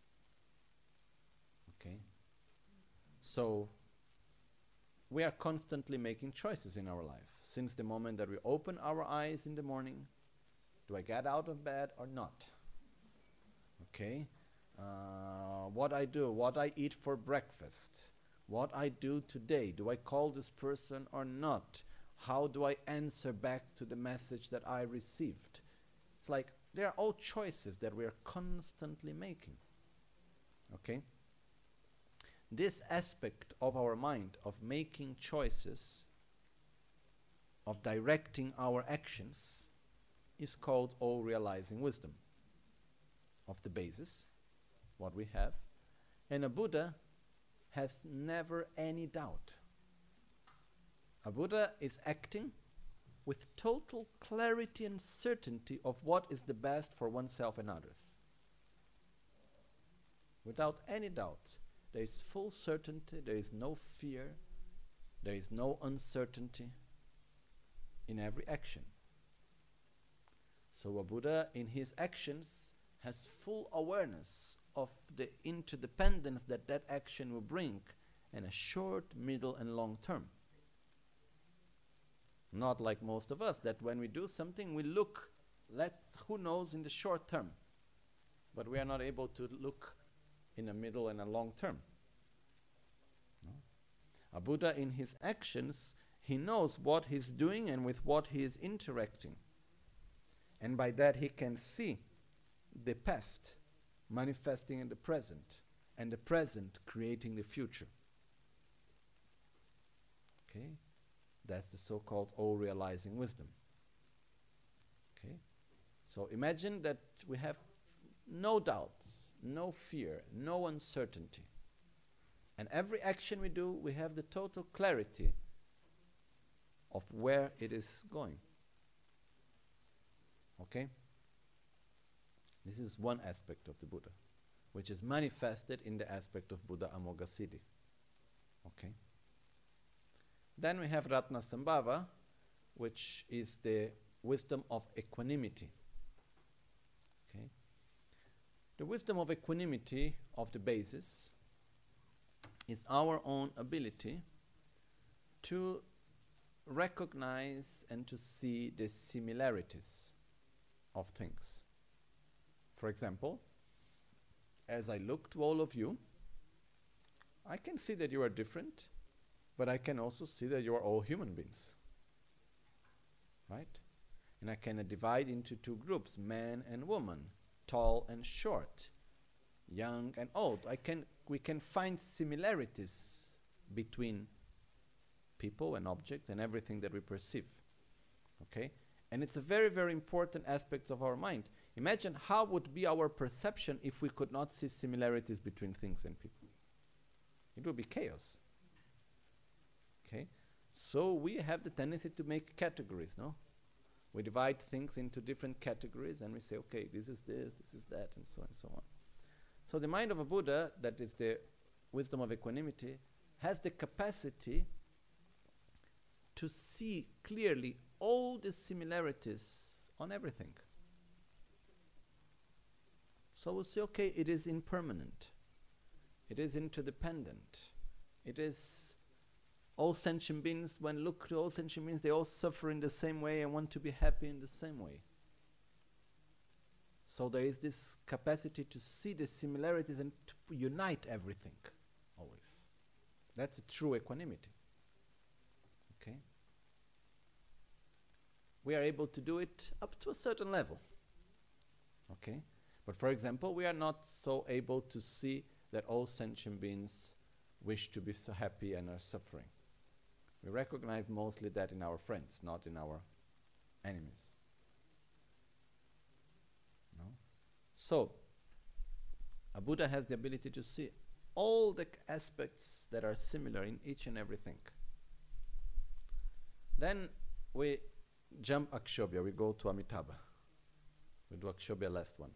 Okay? So we are constantly making choices in our life. Since the moment that we open our eyes in the morning, do I get out of bed or not? Okay? What I do, what I eat for breakfast, what I do today, do I call this person or not? How do I answer back to the message that I received? It's like they are all choices that we are constantly making. Okay? This aspect of our mind, of making choices, of directing our actions, is called all-realizing wisdom of the basis, what we have. And a Buddha has never any doubt. A Buddha is acting with total clarity and certainty of what is the best for oneself and others. Without any doubt. There is full certainty, there is no fear, there is no uncertainty in every action. So a Buddha in his actions has full awareness of the interdependence that that action will bring in a short, middle and long term. Not like most of us, that when we do something we look, who knows in the short term, but we are not able to look in a middle and a long term. No? A Buddha in his actions, he knows what he's doing and with what he is interacting. And by that he can see the past manifesting in the present and the present creating the future. Okay? That's the so-called all-realizing wisdom. Okay? So imagine that we have no doubts, no fear, no uncertainty. And every action we do, we have the total clarity of where it is going. Okay? This is one aspect of the Buddha, which is manifested in the aspect of Buddha Amoghasiddhi. Okay? Then we have Ratnasambhava, which is the wisdom of equanimity. Okay? The wisdom of equanimity of the basis is our own ability to recognize and to see the similarities of things. For example, as I look to all of you, I can see that you are different, but I can also see that you are all human beings. Right? And I can divide into two groups, man and woman, tall and short, young and old. We can find similarities between people and objects and everything that we perceive. Okay? And it's a very, very important aspect of our mind. Imagine how would be our perception if we could not see similarities between things and people. It would be chaos. Okay? So we have the tendency to make categories, no? We divide things into different categories and we say, okay, this is that, and so on and so on. So the mind of a Buddha, that is the wisdom of equanimity, has the capacity to see clearly all the similarities on everything. So we'll say, okay, it is impermanent. It is interdependent. It is all sentient beings, when look to all sentient beings, they all suffer in the same way and want to be happy in the same way. So there is this capacity to see the similarities and to unite everything, always. That's a true equanimity. Okay? We are able to do it up to a certain level. Okay? But for example, we are not so able to see that all sentient beings wish to be so happy and are suffering. We recognize mostly that in our friends, not in our enemies. No? So, a Buddha has the ability to see all the aspects that are similar in each and everything. Then we jump Akshobhya, we go to Amitabha. We do Akshobhya last one.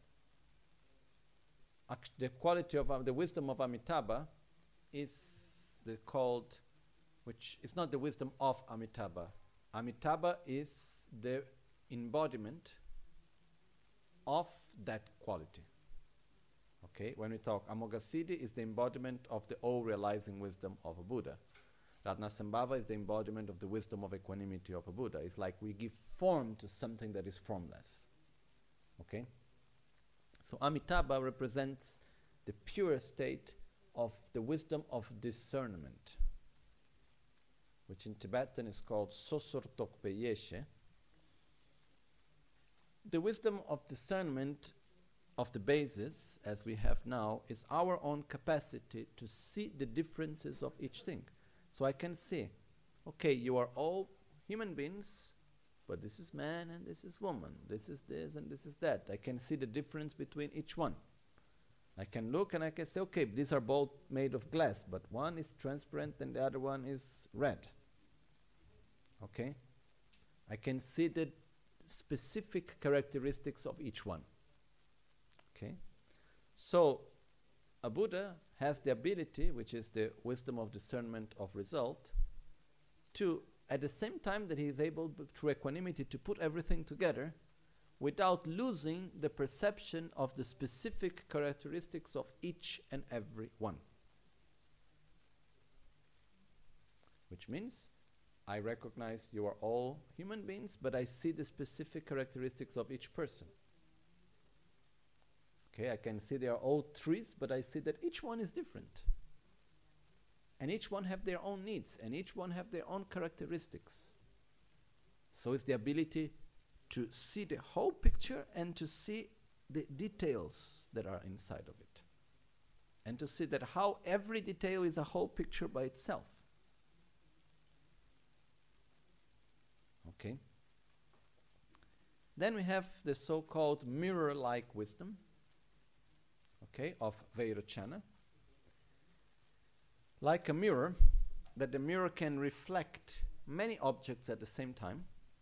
The quality of the wisdom of Amitabha is called, which is not the wisdom of Amitabha. Amitabha is the embodiment of that quality. Okay, when we talk, Amoghasiddhi is the embodiment of the all-realizing wisdom of a Buddha. Ratnasambhava is the embodiment of the wisdom of equanimity of a Buddha. It's like we give form to something that is formless. Okay? So Amitabha represents the pure state of the wisdom of discernment, which in Tibetan is called Sosur Tokpe Yeshe. The wisdom of discernment of the basis, as we have now, is our own capacity to see the differences of each thing. So I can see, okay, you are all human beings, but this is man and this is woman, this is this and this is that. I can see the difference between each one. I can look and I can say, okay, these are both made of glass, but one is transparent and the other one is red. Okay? I can see the specific characteristics of each one. Okay? So, a Buddha has the ability, which is the wisdom of discernment of result, to, at the same time that he is able, through equanimity, to put everything together without losing the perception of the specific characteristics of each and every one. Which means, I recognize you are all human beings, but I see the specific characteristics of each person. Okay, I can see they are all trees, but I see that each one is different. And each one have their own needs, and each one have their own characteristics. So it's the ability to see the whole picture and to see the details that are inside of it. And to see that how every detail is a whole picture by itself. Okay? Then we have the so-called mirror-like wisdom, okay, of Vairocana. Like a mirror, that the mirror can reflect many objects at the same time.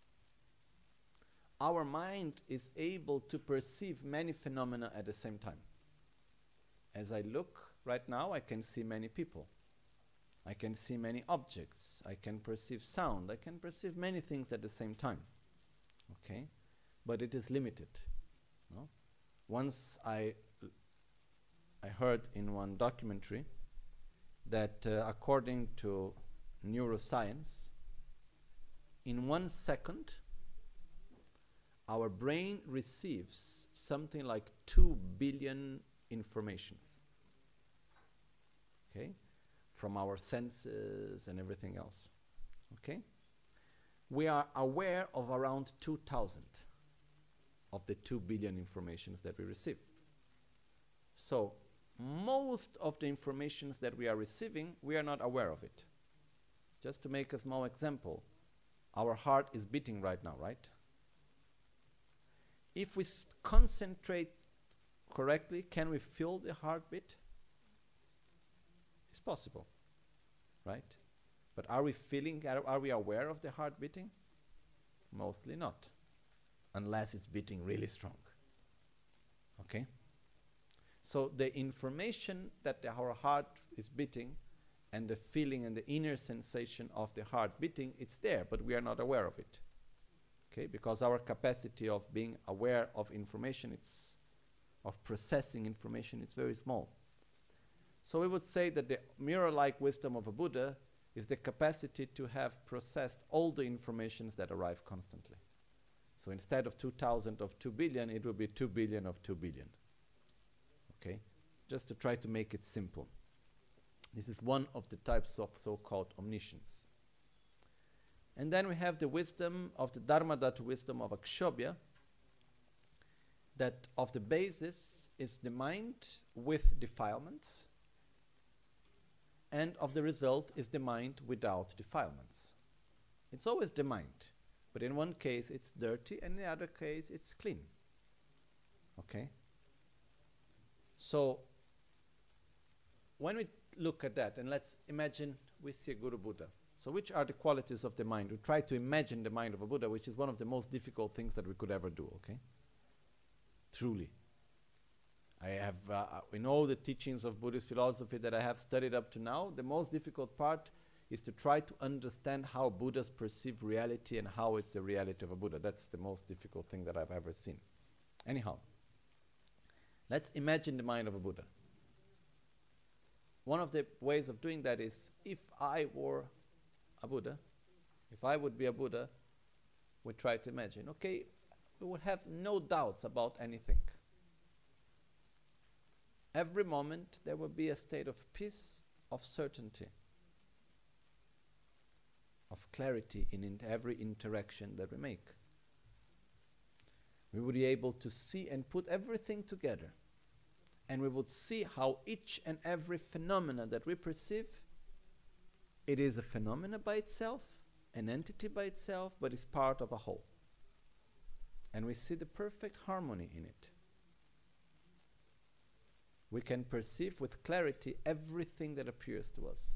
Our mind is able to perceive many phenomena at the same time. As I look right now, I can see many people. I can see many objects. I can perceive sound. I can perceive many things at the same time. Okay? But it is limited. No? Once I heard in one documentary that according to neuroscience, in 1 second, our brain receives something like 2 billion informations. Okay? From our senses and everything else. Okay? we are aware of around 2,000 of the 2 billion informations that we receive. So most of the informations that we are receiving, we are not aware of it. Just to make a small example, our heart is beating right now, right? If we concentrate correctly, can we feel the heartbeat? It's possible, right? But are we feeling, are we aware of the heart beating? Mostly not, unless it's beating really strong. Okay? So the information that our heart is beating and the feeling and the inner sensation of the heart beating, it's there, but we are not aware of it. Okay? Because our capacity of being aware of information, of processing information, it's very small. So we would say that the mirror-like wisdom of a Buddha is the capacity to have processed all the informations that arrive constantly. So instead of 2,000 of 2 billion, it will be 2 billion of 2 billion. Okay? Just to try to make it simple. This is one of the types of so-called omniscience. And then we have the wisdom of the Dharmadhatu wisdom of Akshobhya, that of the basis is the mind with defilements, and of the result is the mind without defilements. It's always the mind, but in one case it's dirty and in the other case it's clean. Okay? So when we look at that, and let's imagine we see a Guru Buddha. So which are the qualities of the mind? We try to imagine the mind of a Buddha, which is one of the most difficult things that we could ever do, okay? Truly. I have, in all the teachings of Buddhist philosophy that I have studied up to now, the most difficult part is to try to understand how Buddhas perceive reality and how it's the reality of a Buddha. That's the most difficult thing that I've ever seen. Anyhow, let's imagine the mind of a Buddha. One of the ways of doing that is, if I were a Buddha, if I would be a Buddha, we try to imagine, okay, we would have no doubts about anything. Every moment there will be a state of peace, of certainty, of clarity in every interaction that we make. We would be able to see and put everything together. And we would see how each and every phenomena that we perceive, it is a phenomena by itself, an entity by itself, but is part of a whole. And we see the perfect harmony in it. We can perceive with clarity everything that appears to us.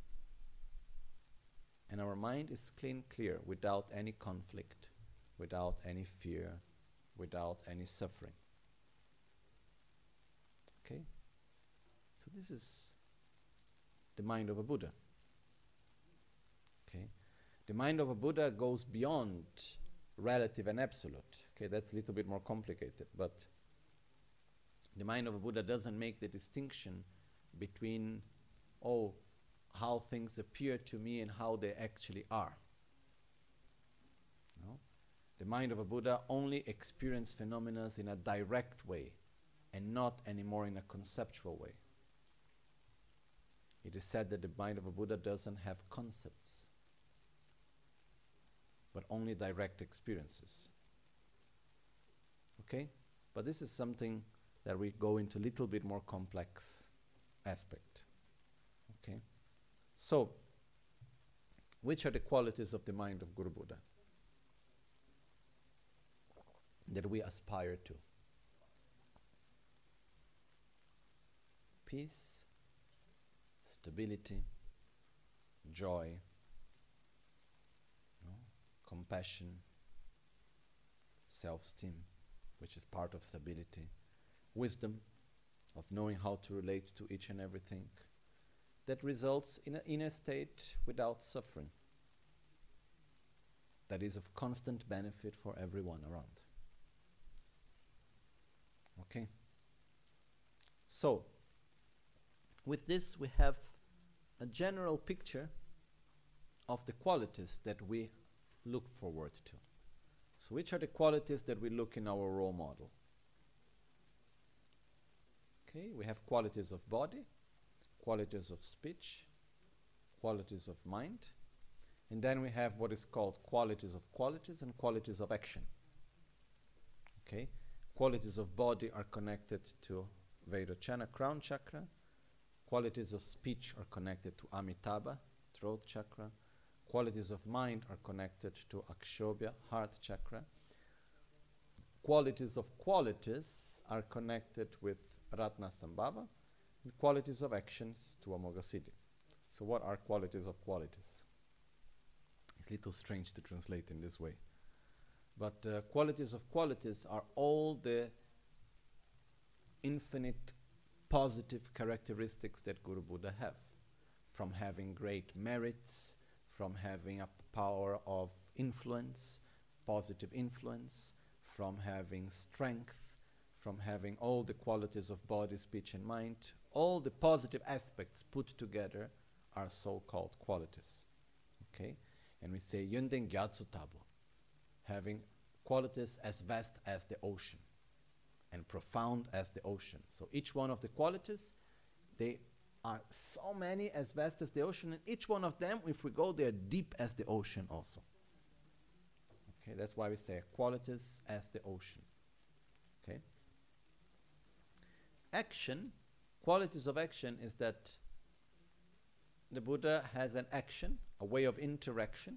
And our mind is clear, without any conflict, without any fear, without any suffering. Okay? So this is the mind of a Buddha. Okay? The mind of a Buddha goes beyond relative and absolute. Okay, that's a little bit more complicated, but the mind of a Buddha doesn't make the distinction between, how things appear to me and how they actually are. No? The mind of a Buddha only experiences phenomena in a direct way and not anymore in a conceptual way. It is said that the mind of a Buddha doesn't have concepts, but only direct experiences. Okay? But this is something that we go into a little bit more complex aspect. Okay? So, which are the qualities of the mind of Guru Buddha that we aspire to? Peace, stability, joy, compassion, self-esteem, which is part of stability, wisdom of knowing how to relate to each and everything, that results in an inner state without suffering, that is of constant benefit for everyone around. Okay? So, with this we have a general picture of the qualities that we look forward to. So which are the qualities that we look in our role model? Okay, we have qualities of body, qualities of speech, qualities of mind, And then we have what is called qualities of qualities and qualities of action. Okay? Qualities of body are connected to Vairochana, crown chakra. Qualities of speech are connected to Amitabha, throat chakra. Qualities of mind are connected to Akshobhya, heart chakra. Qualities of qualities are connected with Ratna Sambhava. And qualities of actions to Amoghasiddhi. So what are qualities of qualities? It's a little strange to translate in this way. But qualities of qualities are all the infinite positive characteristics that Guru Buddha have. From having great merits, from having a power of influence, positive influence, from having strength, from having all the qualities of body, speech and mind, all the positive aspects put together are so-called qualities. Okay? And we say Yönden Gyatso Tabu, having qualities as vast as the ocean and profound as the ocean. So each one of the qualities, they are so many, as vast as the ocean, and each one of them, if we go, they are deep as the ocean also. Okay, that's why we say qualities as the ocean. Okay? Action, qualities of action is that the Buddha has an action, a way of interaction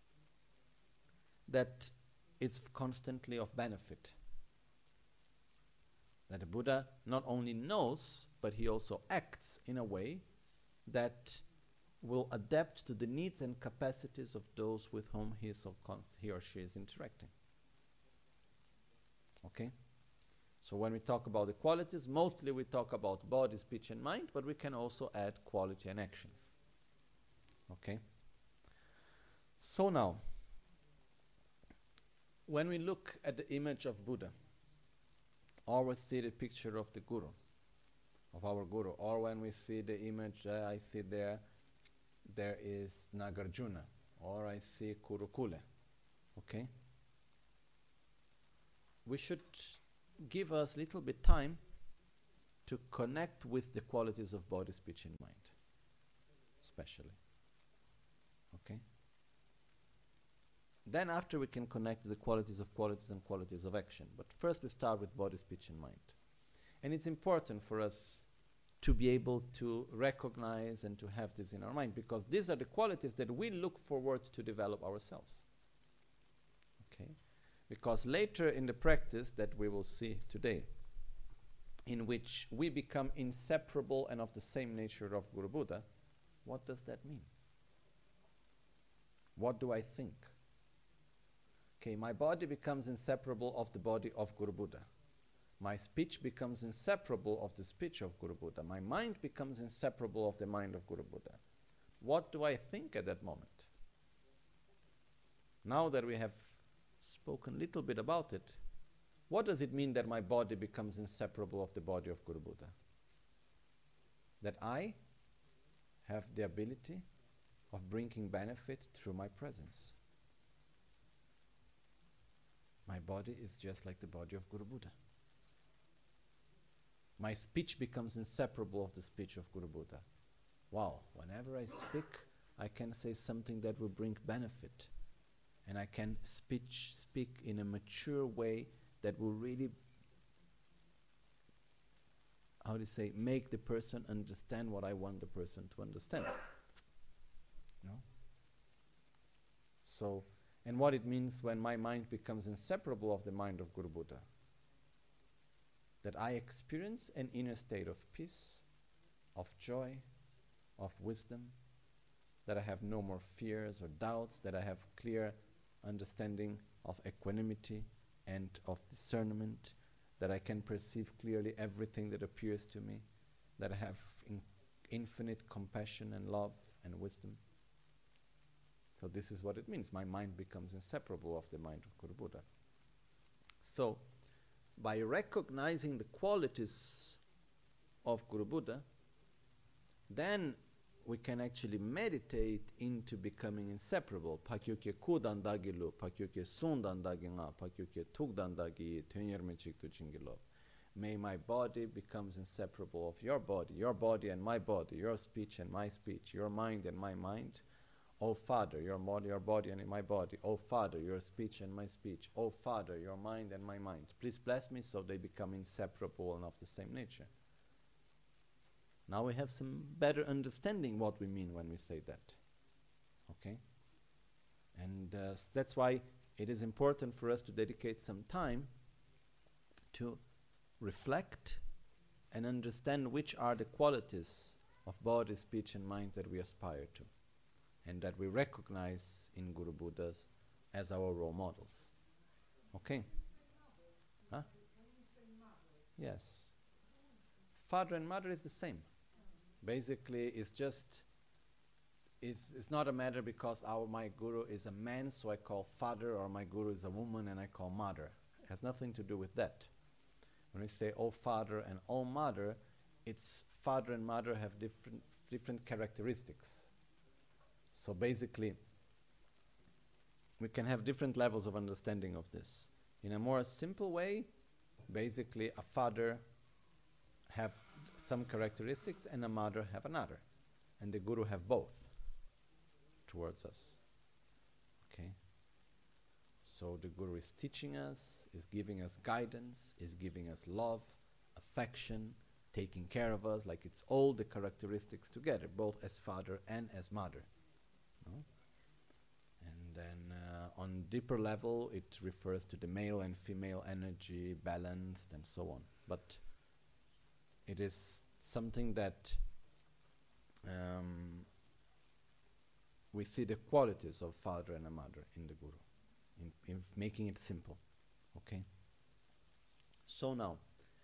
that is constantly of benefit. That the Buddha not only knows, but he also acts in a way that will adapt to the needs and capacities of those with whom he or she is interacting. Okay? So when we talk about the qualities, mostly we talk about body, speech and mind, but we can also add quality and actions. Okay? So now, when we look at the image of Buddha, or we see the picture of the Guru, of our Guru, or when we see the image, I see there is Nagarjuna, or I see Kurukule, okay? We should give us a little bit time to connect with the qualities of body, speech and mind, especially, okay? Then after we can connect to the qualities of qualities and qualities of action. But first we start with body, speech and mind. And it's important for us to be able to recognize and to have this in our mind, because these are the qualities that we look forward to develop ourselves. Okay? Because later in the practice that we will see today, in which we become inseparable and of the same nature of Guru Buddha, what does that mean? What do I think? Okay, my body becomes inseparable of the body of Guru Buddha. My speech becomes inseparable of the speech of Guru Buddha. My mind becomes inseparable of the mind of Guru Buddha. What do I think at that moment? Now that we have spoken a little bit about it, what does it mean that my body becomes inseparable of the body of Guru Buddha? That I have the ability of bringing benefit through my presence. My body is just like the body of Guru Buddha. My speech becomes inseparable of the speech of Guru Buddha. Wow, whenever I speak, I can say something that will bring benefit. And I can speak in a mature way that will really, make the person understand what I want the person to understand. No? So, and what it means when my mind becomes inseparable of the mind of Guru Buddha. That I experience an inner state of peace, of joy, of wisdom, that I have no more fears or doubts, that I have clear understanding of equanimity and of discernment, that I can perceive clearly everything that appears to me, that I have infinite compassion and love and wisdom. So this is what it means. My mind becomes inseparable of the mind of Guru Buddha. So, by recognizing the qualities of Guru Buddha, then we can actually meditate into becoming inseparable. Pakyukye kudandagilu, pakyukye sundandaginga, pakyukye tugdandagi, tunyermechiktu chingilo. May my body becomes inseparable of your body and my body, your speech and my speech, your mind and my mind, Oh Father, your body and my body. Oh Father, your speech and my speech. Oh Father, your mind and my mind. Please bless me so they become inseparable and of the same nature. Now we have some better understanding what we mean when we say that. Okay? And that's why it is important for us to dedicate some time to reflect and understand which are the qualities of body, speech and mind that we aspire to and that we recognize in Guru Buddhas as our role models. Okay? Huh? Yes. Father and mother is the same. Basically, it's not a matter because my guru is a man, so I call father, or my guru is a woman and I call mother. It has nothing to do with that. When we say oh father and oh mother, it's father and mother have different characteristics. So basically, we can have different levels of understanding of this. In a more simple way, basically a father have some characteristics and a mother have another. And the guru have both towards us. Okay? So the guru is teaching us, is giving us guidance, is giving us love, affection, taking care of us, like it's all the characteristics together, both as father and as mother. No? And then on deeper level, it refers to the male and female energy, balanced and so on. But it is something that we see the qualities of father and a mother in the guru, in making it simple. Okay? So now,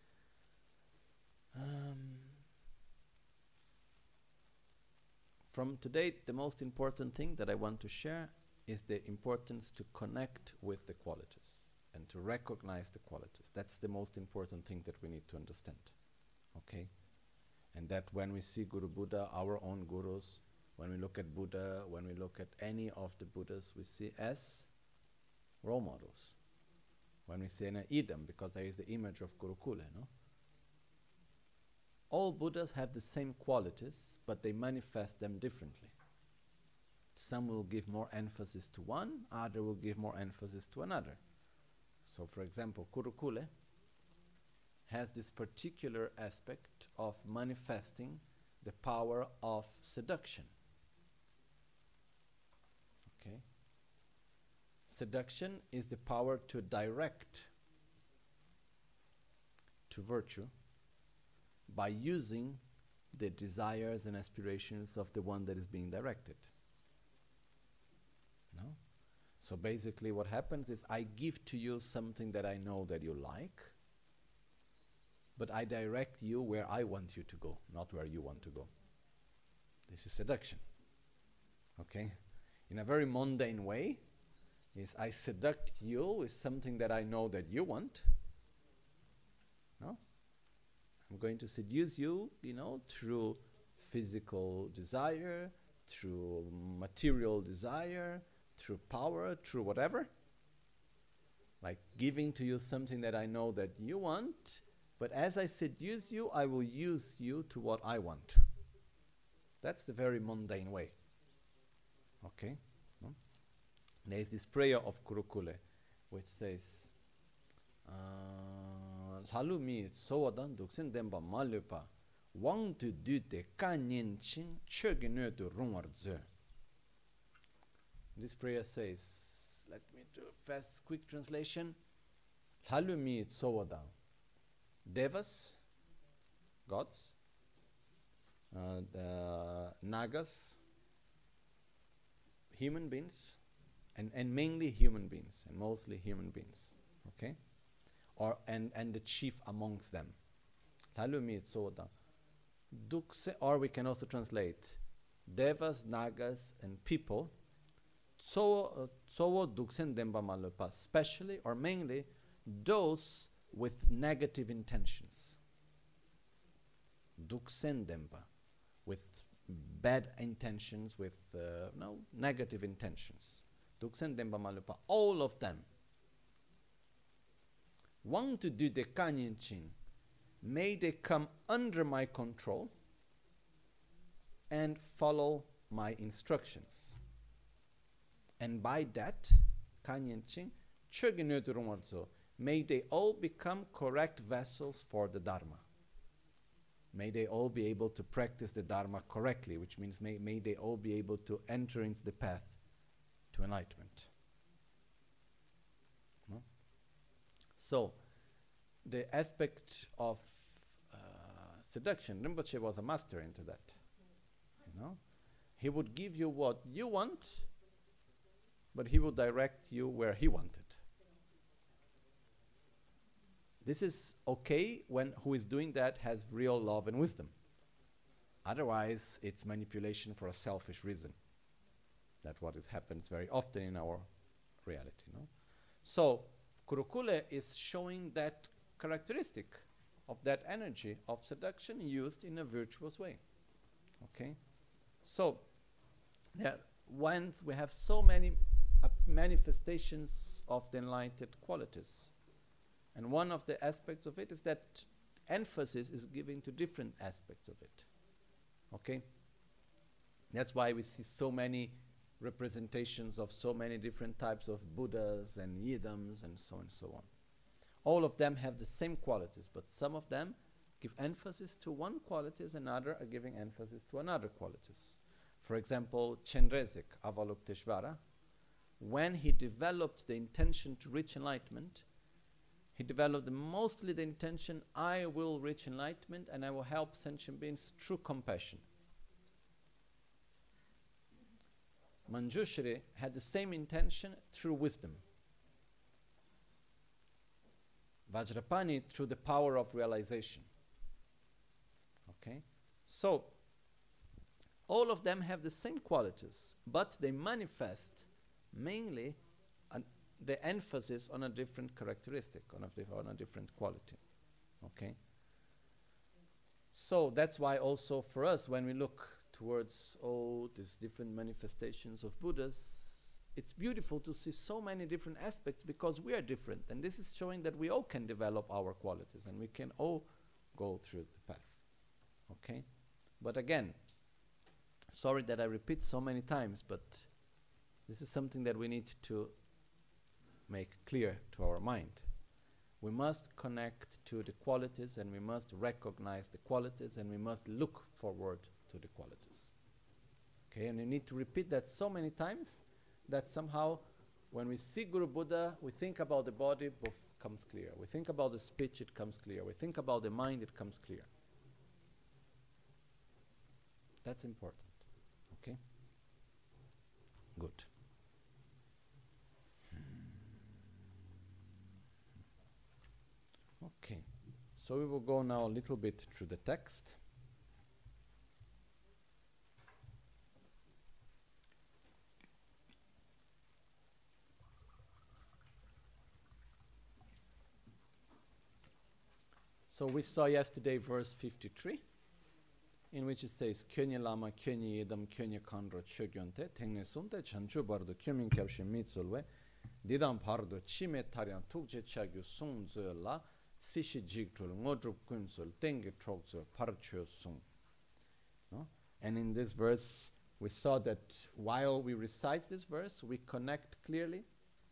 from today, the most important thing that I want to share is the importance to connect with the qualities and to recognize the qualities. That's the most important thing that we need to understand. Okay? And that when we see Guru Buddha, our own gurus, when we look at Buddha, when we look at any of the Buddhas, we see as role models. When we say an idam, because there is the image of Gurukula, no? All Buddhas have the same qualities, but they manifest them differently. Some will give more emphasis to one, other will give more emphasis to another. So for example, Gurukula has this particular aspect of manifesting the power of seduction. Okay? Seduction is the power to direct to virtue by using the desires and aspirations of the one that is being directed. No? So basically what happens is I give to you something that I know that you like, but I direct you where I want you to go, not where you want to go. This is seduction. Okay? In a very mundane way, is I seduct you with something that I know that you want. No? I'm going to seduce you, through physical desire, through material desire, through power, through whatever. Like giving to you something that I know that you want, but as I seduce you, I will use you to what I want. That's the very mundane way. Okay? No? There is this prayer of Gurukula, which says, Lalu mi sowadan duksen demba malupa, wang tu dute kanyin chin chögine du rumar ze. This prayer says, let me do a fast, quick translation. Lalu mi sowadan. Devas, gods, the Nagas, human beings, and mainly human beings, and mostly human beings, okay? And the chief amongst them. Or we can also translate Devas, Nagas, and people, especially or mainly those with negative intentions. Duksen Dempa, with bad intentions, with negative intentions. Duksen Dempa Malupa, all of them. Want to do the Kanyin Chin, may they come under my control and follow my instructions. And by that, Kanyenching, may they all become correct vessels for the Dharma. May they all be able to practice the Dharma correctly, which means may they all be able to enter into the path to enlightenment. No? So, the aspect of seduction, Rinpoche was a master into that. You know, he would give you what you want, but he would direct you where he wanted. This is okay when who is doing that has real love and wisdom. Otherwise, it's manipulation for a selfish reason. That's what happens very often in our reality. No? So, Kurukule is showing that characteristic of that energy of seduction used in a virtuous way. Okay? So, once we have so many manifestations of the enlightened qualities, and one of the aspects of it is that emphasis is given to different aspects of it. Okay? That's why we see so many representations of so many different types of Buddhas and Yidams and so on and so on. All of them have the same qualities, but some of them give emphasis to one qualities and others are giving emphasis to another qualities. For example, Chenrezig, Avalokiteshvara, when he developed the intention to reach enlightenment, he developed mostly the intention, I will reach enlightenment and I will help sentient beings through compassion. Manjushri had the same intention through wisdom. Vajrapani through the power of realization. Okay? So, all of them have the same qualities, but they manifest mainly the emphasis on a different characteristic, on a different quality. Okay? So that's why also for us, when we look towards all these different manifestations of Buddhas, it's beautiful to see so many different aspects because we are different. And this is showing that we all can develop our qualities and we can all go through the path. Okay? But again, sorry that I repeat so many times, but this is something that we need to make clear to our mind. We must connect to the qualities and we must recognize the qualities and we must look forward to the qualities. Okay, and you need to repeat that so many times that somehow when we see Guru Buddha, we think about the body, both comes clear. We think about the speech, it comes clear. We think about the mind, it comes clear. That's important. Okay? Good. Okay, so we will go now a little bit through the text. So we saw yesterday verse 53, in which it says, Kyonye lama, kyonye yedam, kyonye kandro chogyonte, tengne sunte chanchu bardo kyomin kyabshi mitsulwe, didam pardo chime taryan tukje chagyu sung zo la, sishi jigtrul ngodrup kunsul tengi trokzo parcho sung. No? And in this verse, we saw that while we recite this verse, we connect clearly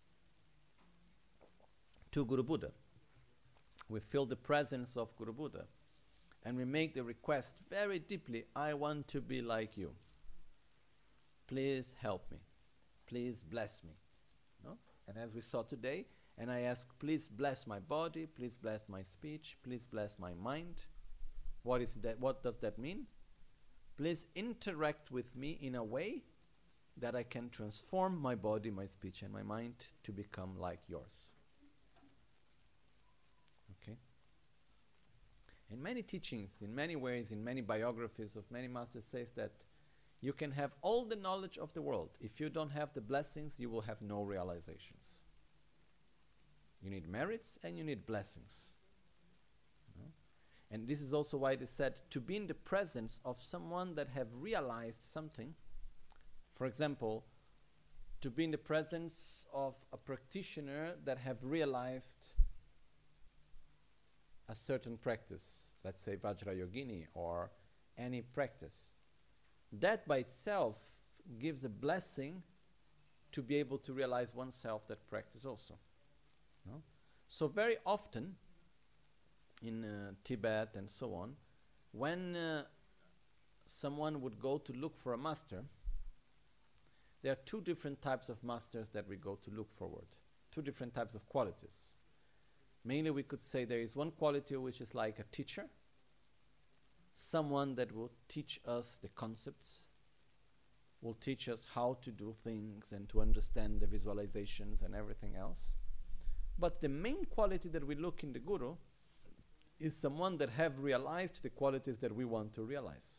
to Guru Buddha. We feel the presence of Guru Buddha. And we make the request very deeply, I want to be like you. Please help me. Please bless me. No? And as we saw today, and I ask, please bless my body, please bless my speech, please bless my mind. What is that? What does that mean? Please interact with me in a way that I can transform my body, my speech, and my mind to become like yours. Okay? In many teachings, in many ways, in many biographies of many masters says that you can have all the knowledge of the world. If you don't have the blessings, you will have no realizations. You need merits and you need blessings. No? And this is also why they said to be in the presence of someone that have realized something. For example, to be in the presence of a practitioner that have realized a certain practice, let's say Vajrayogini or any practice. That by itself gives a blessing to be able to realize oneself that practice also. No? So very often in Tibet and so on, when someone would go to look for a master, there are two different types of masters that we go to look forward. Two different types of qualities. Mainly we could say there is one quality which is like a teacher, someone that will teach us the concepts, will teach us how to do things and to understand the visualizations and everything else. But the main quality that we look in the guru is someone that have realized the qualities that we want to realize.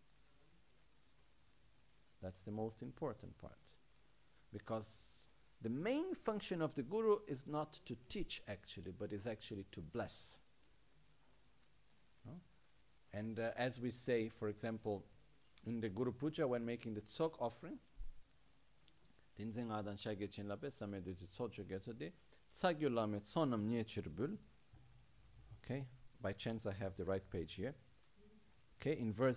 That's the most important part. Because the main function of the guru is not to teach actually, but is actually to bless. No? And as we say, for example, in the Guru Puja, when making the Tsok offering, okay, by chance I have the right page here. Okay, in verse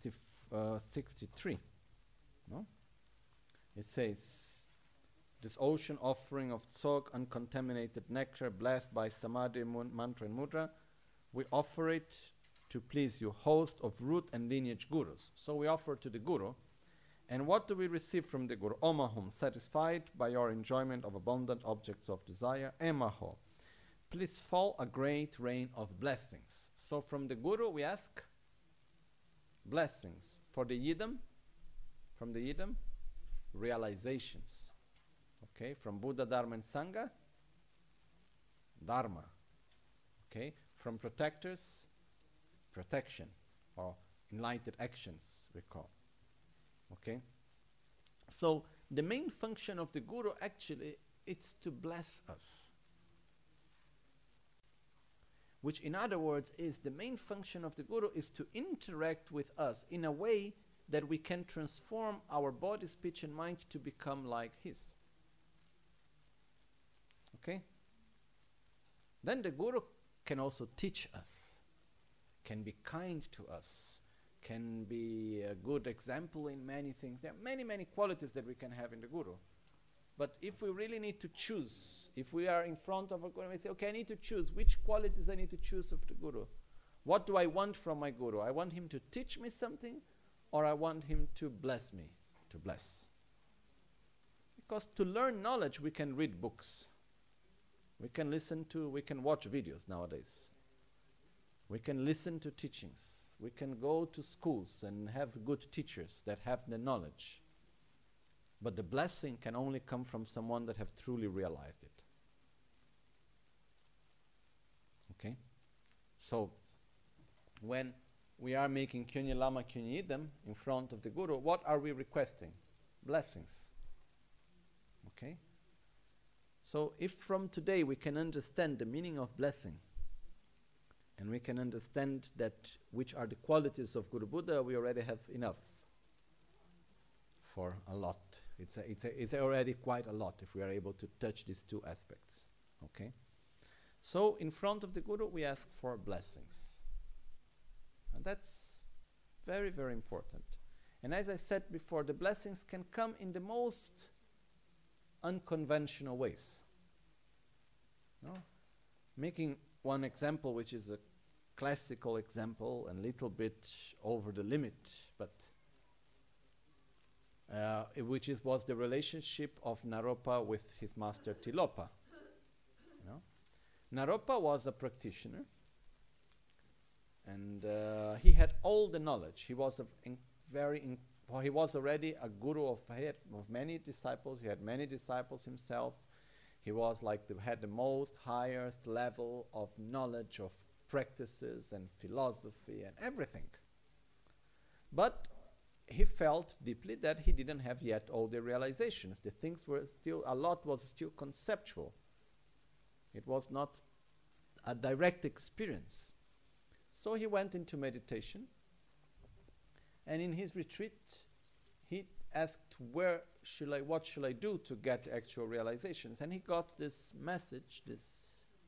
63, no? It says, this ocean offering of Tsok, uncontaminated nectar, blessed by Samadhi, mantra and mudra, we offer it to please you, host of root and lineage gurus. So we offer to the guru. And what do we receive from the guru? Omahum, satisfied by your enjoyment of abundant objects of desire. Emaho, please fall a great rain of blessings. So from the guru we ask blessings. For the yidam, from the yidam, realizations. Okay, from Buddha, Dharma and Sangha, Dharma. Okay, from protectors, protection, or enlightened actions, we call. Okay? So, the main function of the guru actually, it's to bless us. Which in other words is, the main function of the guru is to interact with us in a way that we can transform our body, speech and mind to become like his. Okay? Then the guru can also teach us, can be kind to us, can be a good example in many things. There are many, many qualities that we can have in the guru. But if we really need to choose, if we are in front of a guru, we say, okay, I need to choose which qualities I need to choose of the guru. What do I want from my guru? I want him to teach me something, or I want him to bless me, to bless. Because to learn knowledge, we can read books. We can we can watch videos nowadays. We can listen to teachings. We can go to schools and have good teachers that have the knowledge. But the blessing can only come from someone that have truly realized it. Okay? So, when we are making Kyunyi Lama Kyunyi Idam in front of the Guru, what are we requesting? Blessings. Okay? So, if from today we can understand the meaning of blessing, and we can understand that which are the qualities of Guru Buddha, we already have enough for a lot. It's already quite a lot if we are able to touch these two aspects. Okay? So in front of the Guru we ask for blessings. And that's very, very important. And as I said before, the blessings can come in the most unconventional ways. No? Making one example, which is a classical example and a little bit over the limit, but was the relationship of Naropa with his master Tilopa. You know? Naropa was a practitioner, and he had all the knowledge. He was he was already a guru of many disciples. He had many disciples himself. He was had the most highest level of knowledge of practices and philosophy and everything. But he felt deeply that he didn't have yet all the realizations. The things were still, a lot was still conceptual. It was not a direct experience. So he went into meditation, and in his retreat he asked, what should I do to get actual realizations? And he got this message, this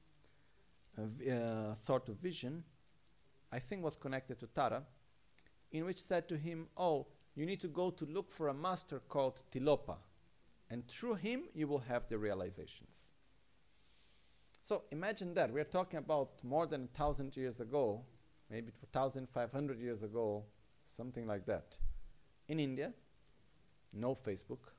sort of vision, I think was connected to Tara, in which said to him, oh, you need to go to look for a master called Tilopa. And through him, you will have the realizations. So imagine that. We're talking about more than 1,000 years ago, maybe 1,500 years ago, something like that. In India, no Facebook,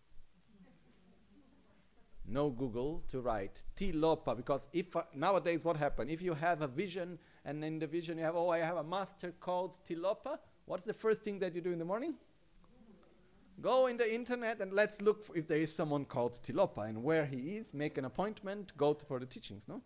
no Google to write Tilopa, because if nowadays what happens? If you have a vision, and in the vision you have, oh, I have a master called Tilopa, what's the first thing that you do in the morning? Go in the internet and let's look if there is someone called Tilopa and where he is, make an appointment, go for the teachings, no?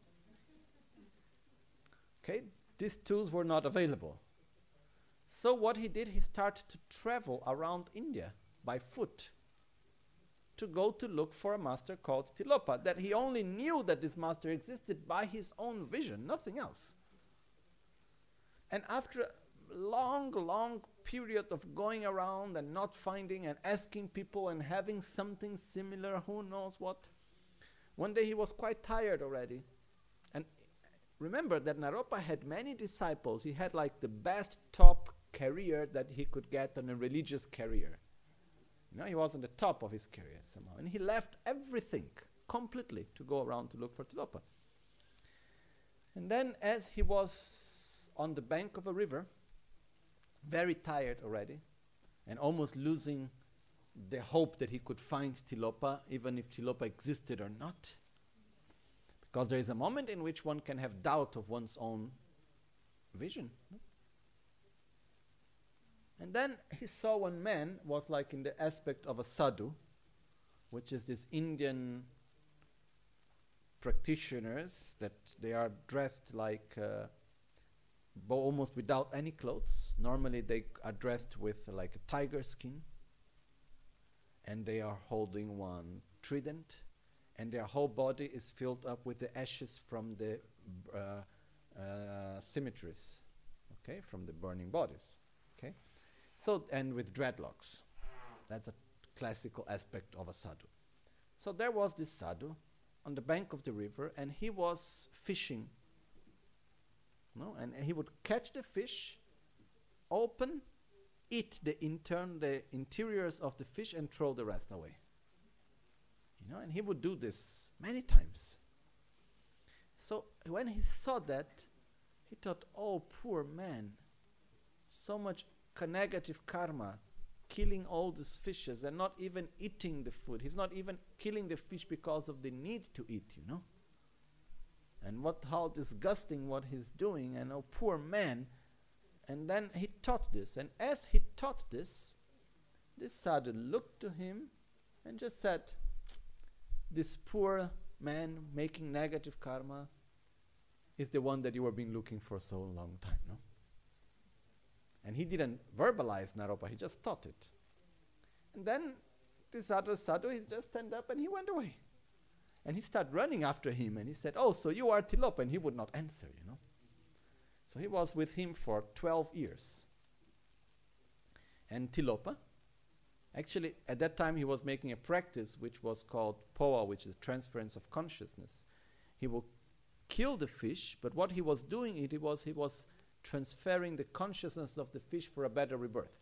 Okay, these tools were not available. So what he did, he started to travel around India by foot to go to look for a master called Tilopa, that he only knew that this master existed by his own vision, nothing else. And after a long period of going around and not finding and asking people and having something similar, who knows what, one day he was quite tired already. And remember that Naropa had many disciples. He had like the best top career that he could get on a religious career. You know, he was on the top of his career somehow. And he left everything completely to go around to look for Tilopa. And then as he was on the bank of a river, very tired already, and almost losing the hope that he could find Tilopa, even if Tilopa existed or not. Because there is a moment in which one can have doubt of one's own vision. No? And then he saw one man, was like in the aspect of a sadhu, which is this Indian practitioners that they are dressed like almost without any clothes. Normally they are dressed with like a tiger skin, and they are holding one trident, and their whole body is filled up with the ashes from the cemeteries, okay, from the burning bodies, okay. So, and with dreadlocks. That's a classical aspect of a sadhu. So there was this sadhu on the bank of the river, and he was fishing. No? And he would catch the fish, open, eat the interiors of the fish, and throw the rest away. You know, and he would do this many times. So when he saw that, he thought, oh, poor man, so much negative karma, killing all these fishes and not even eating the food. He's not even killing the fish because of the need to eat, you know. And how disgusting what he's doing, and oh, poor man. And then he taught this. And as he taught this sadhu looked to him and just said, this poor man making negative karma is the one that you have been looking for so long time, no? And he didn't verbalize Naropa, he just taught it. And then this other sadhu, he just stand up and he went away. And he started running after him, and he said, oh, so you are Tilopa, and he would not answer, you know. So he was with him for 12 years. And Tilopa, actually at that time he was making a practice which was called Poa, which is transference of consciousness. He will kill the fish, but what he was doing, he was transferring the consciousness of the fish for a better rebirth.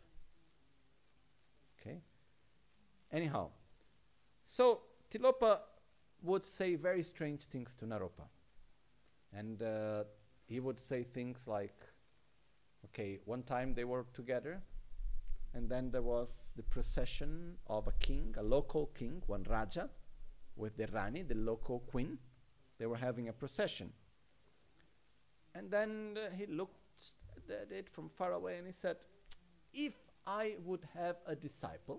Okay? Anyhow, so Tilopa would say very strange things to Naropa. And he would say things like, okay, one time they were together, and then there was the procession of a king, a local king, one Raja, with the Rani, the local queen. They were having a procession. And then he looked at it from far away and he said, if I would have a disciple,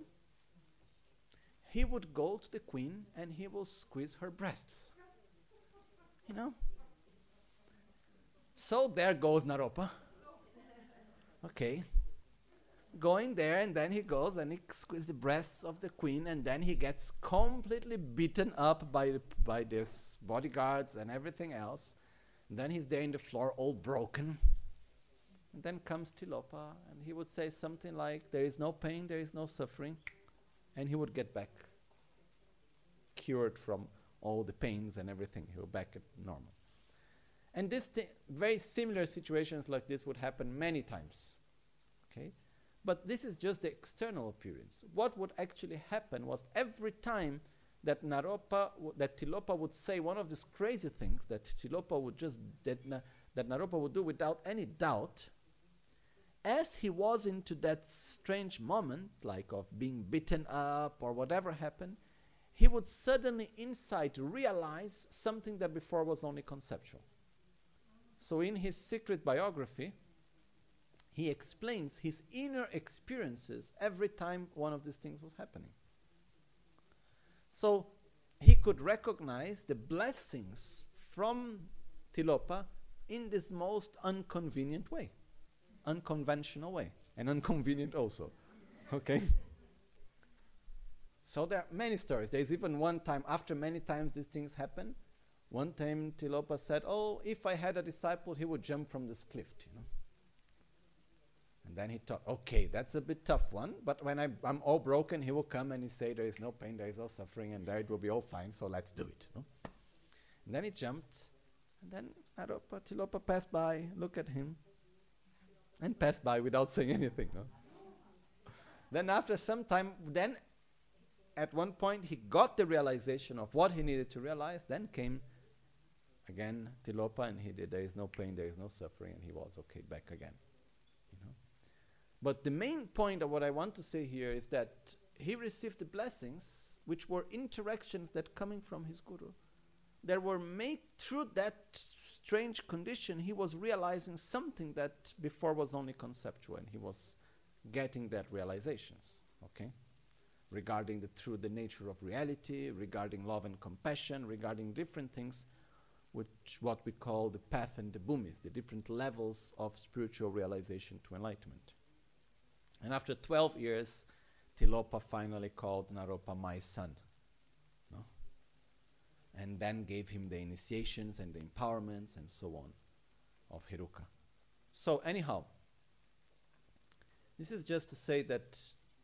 he would go to the queen and he will squeeze her breasts. You know? So there goes Naropa. Okay. Going there, and then he goes and he squeezes the breasts of the queen, and then he gets completely beaten up by these bodyguards and everything else. And then he's there in the floor all broken. And then comes Tilopa, and he would say something like, there is no pain, there is no suffering. And he would get back cured from all the pains and everything. He would back at normal. And this very similar situations like this would happen many times. Okay? But this is just the external appearance. What would actually happen was every time that that Tilopa would say one of these crazy things that Tilopa would just, that Naropa would do without any doubt, as he was into that strange moment, like of being beaten up or whatever happened, he would suddenly inside realize something that before was only conceptual. So in his secret biography, he explains his inner experiences every time one of these things was happening. So he could recognize the blessings from Tilopa in this most unconvenient way, unconventional way, and inconvenient also. Okay? So there are many stories. There's even one time, after many times these things happen, one time Tilopa said, oh, if I had a disciple, he would jump from this cliff, you know. And then he thought, okay, that's a bit tough one, but when I'm all broken, he will come and he say, there is no pain, there is no suffering, and there it will be all fine, so let's do it. You know? And then he jumped, and then Tilopa passed by, looked at him, and passed by without saying anything. No? Then after some time, then at one point he got the realization of what he needed to realize, then came again Tilopa, and he did, there is no pain, there is no suffering, and he was okay, back again. But the main point of what I want to say here is that he received the blessings, which were interactions that coming from his guru, that were made through that strange condition. He was realizing something that before was only conceptual, and he was getting that realizations, okay? Regarding the nature of reality, regarding love and compassion, regarding different things, which what we call the path and the bhumis, the different levels of spiritual realization to enlightenment. And after 12 years, Tilopa finally called Naropa my son. No? And then gave him the initiations and the empowerments and so on of Heruka. So anyhow, this is just to say that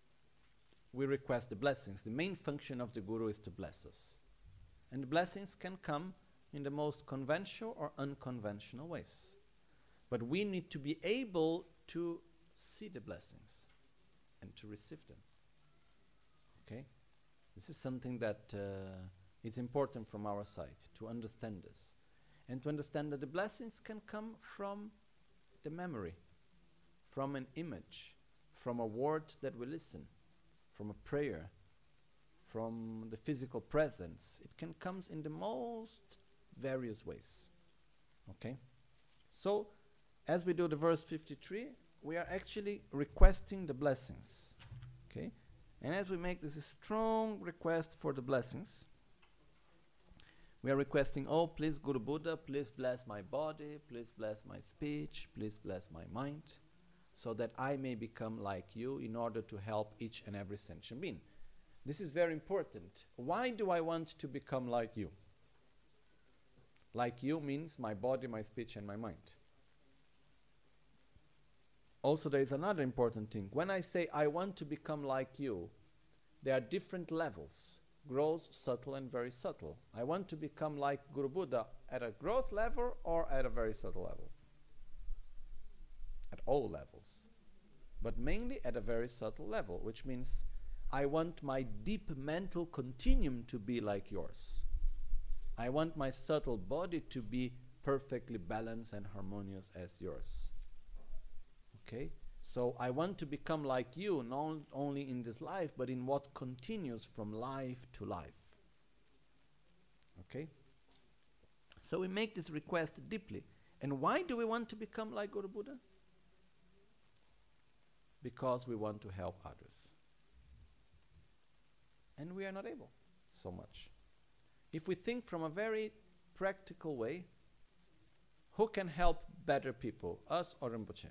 we request the blessings. The main function of the Guru is to bless us. And the blessings can come in the most conventional or unconventional ways. But we need to be able to see the blessings and to receive them. Okay? This is something that it's important from our side to understand this. And to understand that the blessings can come from the memory, from an image, from a word that we listen, from a prayer, from the physical presence. It can come in the most various ways. Okay? So, as we do the verse 53, we are actually requesting the blessings. Okay? And as we make this strong request for the blessings, we are requesting, oh, please Guru Buddha, please bless my body, please bless my speech, please bless my mind, so that I may become like you in order to help each and every sentient being. This is very important. Why do I want to become like you? Like you means my body, my speech, and my mind. Also, there is another important thing. When I say I want to become like you, there are different levels. Gross, subtle, and very subtle. I want to become like Guru Buddha at a gross level or at a very subtle level. At all levels. But mainly at a very subtle level, which means I want my deep mental continuum to be like yours. I want my subtle body to be perfectly balanced and harmonious as yours. Okay? So I want to become like you, not only in this life, but in what continues from life to life. Okay? So we make this request deeply. And why do we want to become like Guru Buddha? Because we want to help others. And we are not able so much. If we think from a very practical way, who can help better people, us or Rinpoche?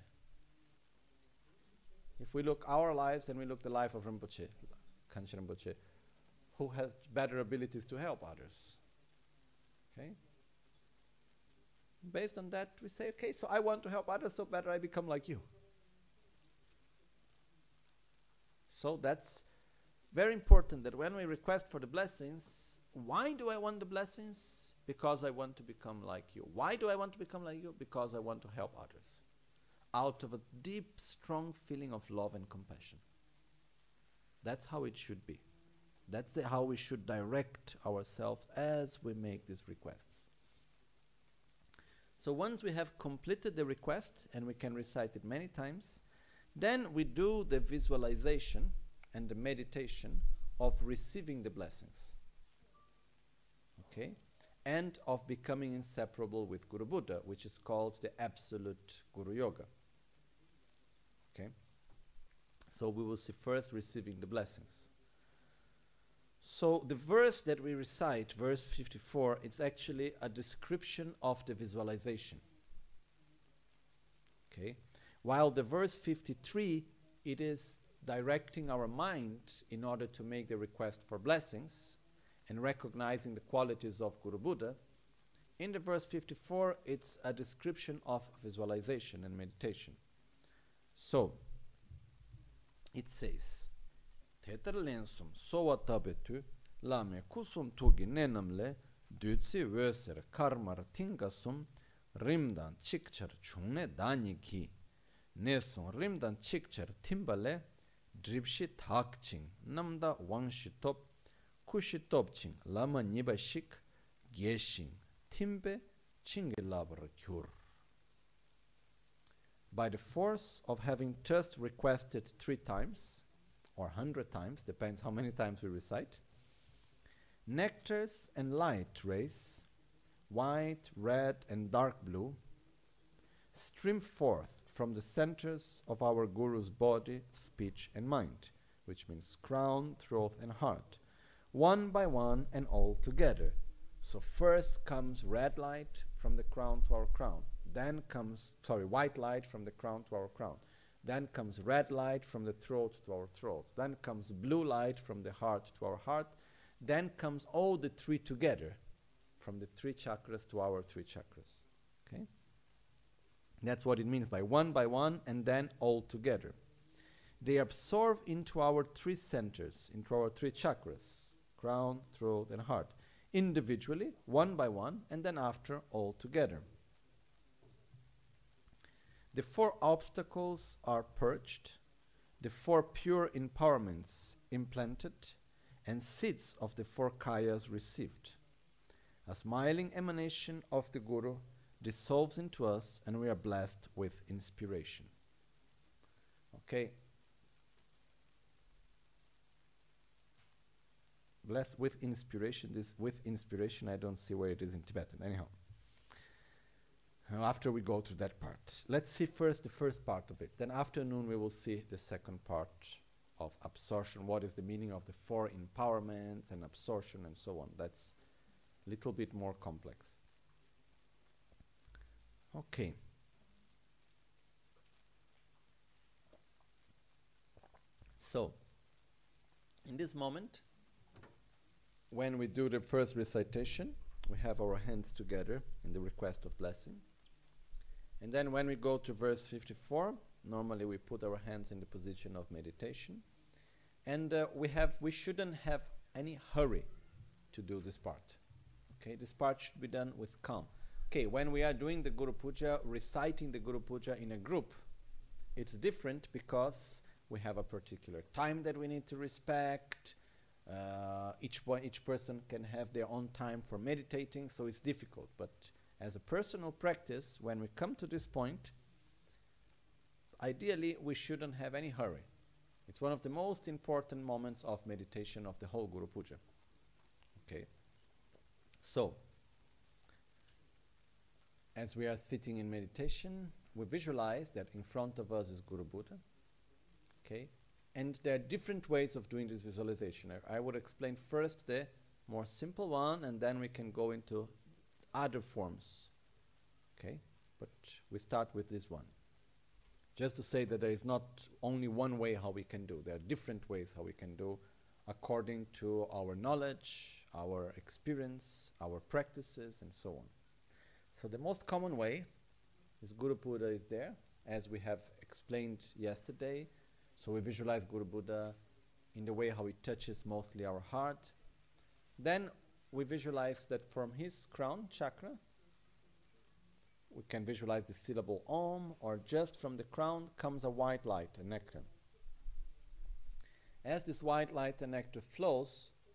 If we look our lives and we look the life of Rinpoche, Kanchen Rinpoche, who has better abilities to help others? Okay? Based on that, we say, okay, so I want to help others, so better I become like you. So that's very important that when we request for the blessings, why do I want the blessings? Because I want to become like you. Why do I want to become like you? Because I want to help others. Out of a deep, strong feeling of love and compassion. That's how it should be. That's how we should direct ourselves as we make these requests. So once we have completed the request, and we can recite it many times, then we do the visualization and the meditation of receiving the blessings. Okay? And of becoming inseparable with Guru Buddha, which is called the Absolute Guru Yoga. Okay? So we will see first receiving the blessings. So the verse that we recite, verse 54, it's actually a description of the visualization. Okay? While the verse 53, it is directing our mind in order to make the request for blessings and recognizing the qualities of Guru Buddha. In the verse 54, it's a description of visualization and meditation. So, it says, Tetar lensum sowa tabetu lame kusum togi nenamle dutsi wöser karmar tingasum rimdan chikchar chungne dani ki nesum rimdan chikchar timbale dripshi thakching namda wangshi top kushi topching lama niba shik gyeshing timbe chingilabar kyur. By the force of having just requested 3 times, or 100 times, depends how many times we recite, nectars and light rays, white, red, and dark blue, stream forth from the centers of our Guru's body, speech, and mind, which means crown, throat, and heart, one by one and all together. So first comes red light from the crown to our crown. Then comes, white light from the crown to our crown. Then comes red light from the throat to our throat. Then comes blue light from the heart to our heart. Then comes all the 3 together, from the 3 chakras to our 3 chakras. Okay? That's what it means by one and then all together. They absorb into our 3 centers, into our 3 chakras, crown, throat, and heart, individually, one by one, and then after all together. The 4 obstacles are purged, the 4 pure empowerments implanted, and seeds of the 4 kayas received. A smiling emanation of the Guru dissolves into us, and we are blessed with inspiration. Okay. Blessed with inspiration. This with inspiration, I don't see where it is in Tibetan. Anyhow. After we go to that part. Let's see first the first part of it. Then afternoon we will see the second part of absorption. What is the meaning of the 4 empowerments and absorption and so on. That's a little bit more complex. Okay. So, in this moment, when we do the first recitation, we have our hands together in the request of blessing. And then when we go to verse 54, normally we put our hands in the position of meditation. And we shouldn't have any hurry to do this part. Okay, this part should be done with calm. Okay, when we are doing the Guru Puja, reciting the Guru Puja in a group, it's different because we have a particular time that we need to respect. Each person can have their own time for meditating, so it's difficult. But as a personal practice, when we come to this point, ideally we shouldn't have any hurry. It's one of the most important moments of meditation of the whole Guru Puja. Okay. So, as we are sitting in meditation, we visualize that in front of us is Guru Buddha. Okay. And there are different ways of doing this visualization. I would explain first the more simple one, and then we can go into other forms. Okay? But we start with this one. Just to say that there is not only one way how we can do. There are different ways how we can do according to our knowledge, our experience, our practices, and so on. So the most common way is Guru Buddha is there, as we have explained yesterday. So we visualize Guru Buddha in the way how he touches mostly our heart. Then we visualize that from his crown chakra, we can visualize the syllable Om, or just from the crown comes a white light, a nectar. As this white light and nectar flows,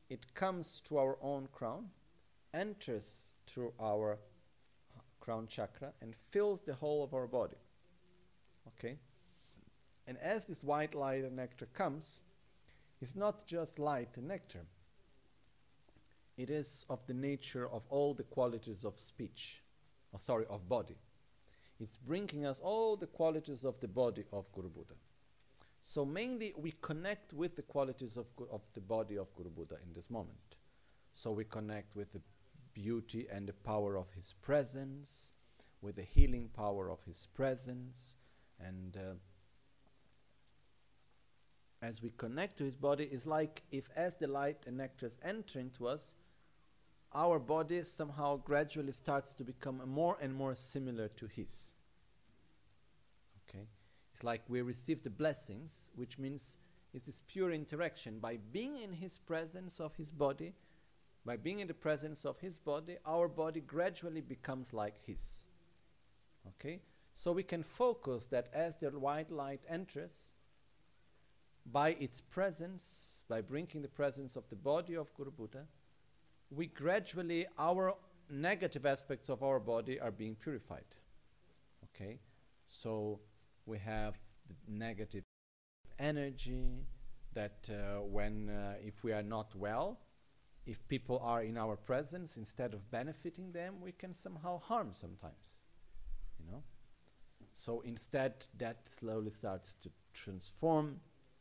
it comes to our own crown, enters through our crown chakra, and fills the whole of our body. Okay? And as this white light and nectar comes, it's not just light and nectar. It is of the nature of all the qualities of speech, of body. It's bringing us all the qualities of the body of Guru Buddha. So mainly we connect with the qualities of the body of Guru Buddha in this moment. So we connect with the beauty and the power of his presence, with the healing power of his presence, and as we connect to his body, it's like if as the light and nectars enter into us, our body somehow gradually starts to become more and more similar to his. Okay? It's like we receive the blessings, which means it's this pure interaction. By being in his presence of his body, by being in the presence of his body, our body gradually becomes like his. Okay? So we can focus that as the white light enters, by its presence, by bringing the presence of the body of Guru Buddha, we gradually, our negative aspects of our body are being purified. Okay? So we have the negative energy that if we are not well, if people are in our presence, instead of benefiting them, we can somehow harm sometimes. You know? So instead, that slowly starts to transform.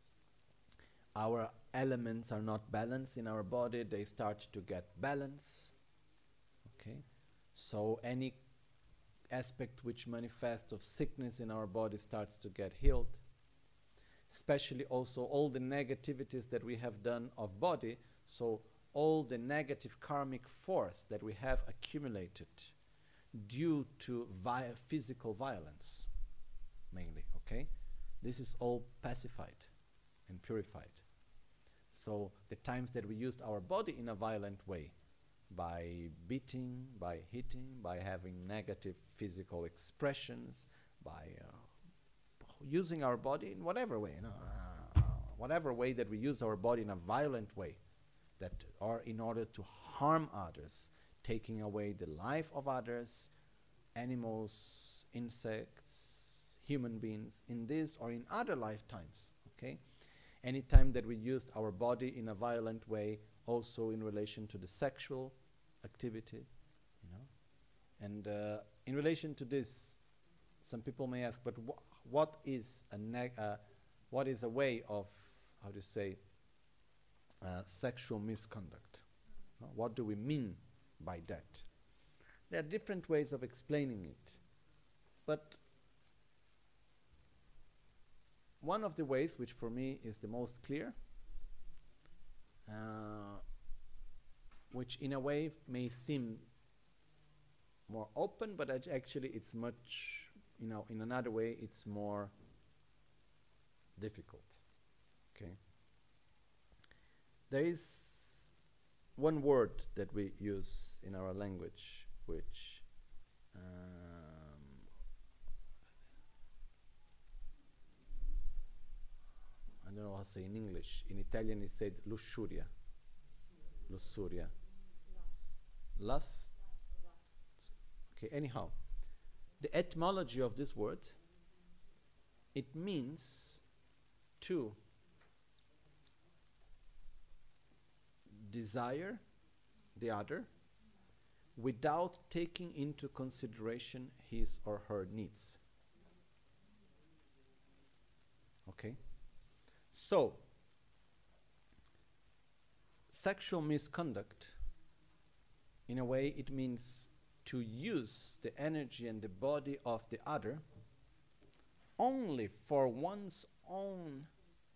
Our elements are not balanced in our body, they start to get balance. Okay? So any aspect which manifests of sickness in our body starts to get healed. Especially also all the negativities that we have done of body, so all the negative karmic force that we have accumulated due to physical violence, mainly, okay? This is all pacified and purified. So the times that we used our body in a violent way, by beating, by hitting, by having negative physical expressions, by using our body in whatever way, whatever way that we use our body in a violent way, that are in order to harm others, taking away the life of others, animals, insects, human beings, in this or in other lifetimes, okay? Anytime that we used our body in a violent way, also in relation to the sexual activity, you know. And in relation to this, some people may ask, but what is a way of, how to say, sexual misconduct? What do we mean by that? There are different ways of explaining it, but one of the ways, which for me is the most clear, which in a way may seem more open, but actually it's much, you know, in another way it's more difficult. Okay. There is one word that we use in our language, which I don't know how to say in English. In Italian it's said lussuria. Lussuria. Lust. Okay, anyhow. The etymology of this word, it means to desire the other without taking into consideration his or her needs. Okay? So, sexual misconduct, in a way, it means to use the energy and the body of the other only for one's own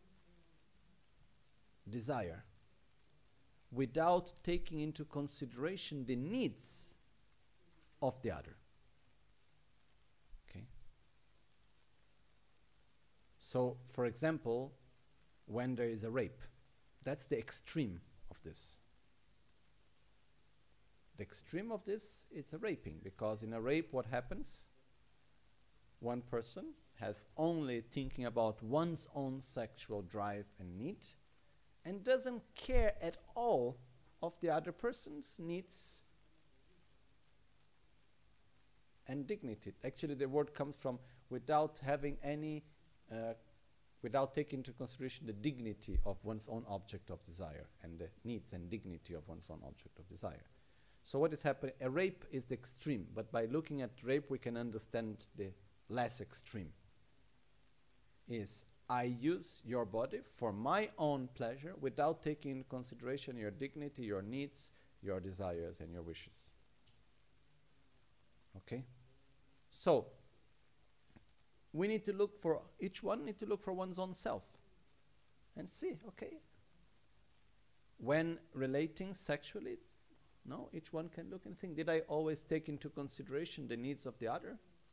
desire, without taking into consideration the needs of the other. Okay? So, for example, when there is a rape, that's the extreme of this. The extreme of this is a raping, because in a rape what happens? One person has only thinking about one's own sexual drive and need, and doesn't care at all of the other person's needs and dignity. Actually, the word comes from without having any, without taking into consideration the dignity of one's own object of desire and the needs and dignity of one's own object of desire. So what is happening? A rape is the extreme, but by looking at rape we can understand the less extreme. Is I use your body for my own pleasure without taking into consideration your dignity, your needs, your desires and your wishes. Okay? So, we need to look for, each one need to look for one's own self and see, okay, when relating sexually, no, each one can look and think, did I always take into consideration the needs of the other?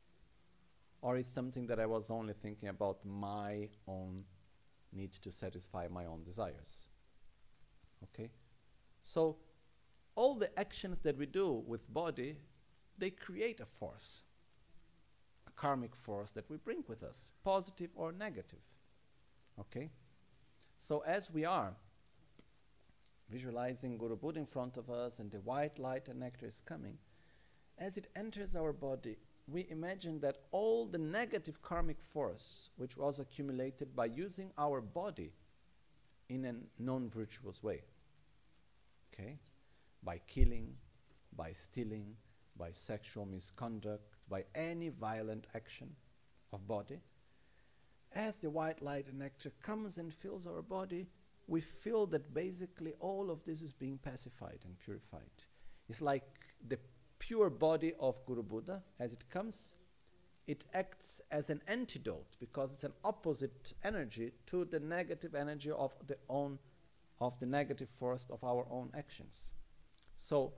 Or is something that I was only thinking about my own need to satisfy my own desires? Okay? So, all the actions that we do with body, they create a force, a karmic force that we bring with us, positive or negative. Okay? So as we are visualizing Guru Buddha in front of us and the white light and nectar is coming, as it enters our body, we imagine that all the negative karmic force which was accumulated by using our body in a non-virtuous way, okay, by killing, by stealing, by sexual misconduct, by any violent action of body, as the white light and nectar comes and fills our body, we feel that basically all of this is being pacified and purified. It's like the pure body of Guru Buddha, as it comes, it acts as an antidote because it's an opposite energy to the negative energy of the negative force of our own actions. So,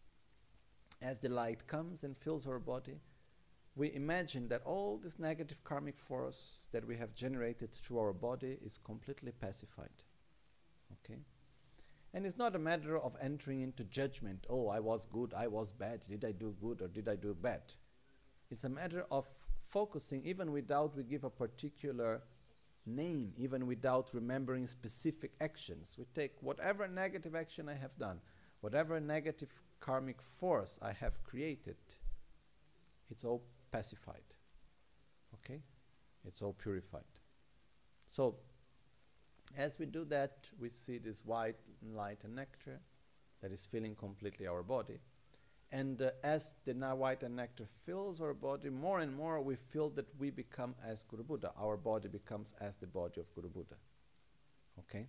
as the light comes and fills our body, we imagine that all this negative karmic force that we have generated through our body is completely pacified. Okay? And it's not a matter of entering into judgment. Oh, I was good, I was bad. Did I do good or did I do bad? It's a matter of focusing, even without we give a particular name, even without remembering specific actions. We take whatever negative action I have done, whatever negative karmic force I have created, it's all pacified. Okay? It's all purified. So, as we do that, we see this white light and nectar that is filling completely our body. And as the white and nectar fills our body, more and more we feel that we become as Guru Buddha. Our body becomes as the body of Guru Buddha. Okay?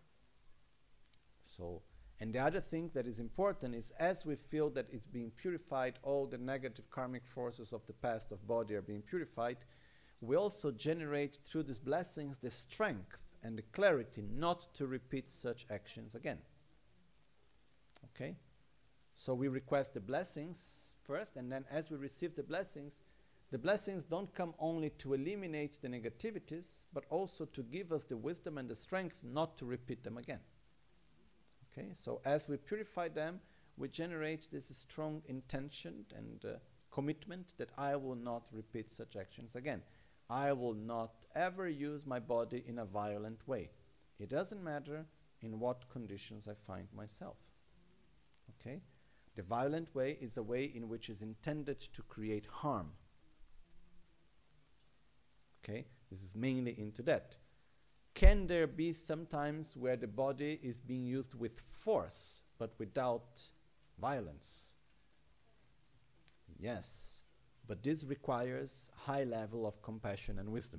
So, and the other thing that is important is as we feel that it's being purified, all the negative karmic forces of the past of body are being purified, we also generate through these blessings the strength and the clarity not to repeat such actions again. Okay? So we request the blessings first, and then as we receive the blessings don't come only to eliminate the negativities, but also to give us the wisdom and the strength not to repeat them again. Okay? So as we purify them, we generate this strong intention and commitment that I will not repeat such actions again. I will not ever use my body in a violent way. It doesn't matter in what conditions I find myself. Okay? The violent way is a way in which is intended to create harm. Okay? This is mainly into that. Can there be sometimes where the body is being used with force, but without violence? Yes. But this requires high level of compassion and wisdom.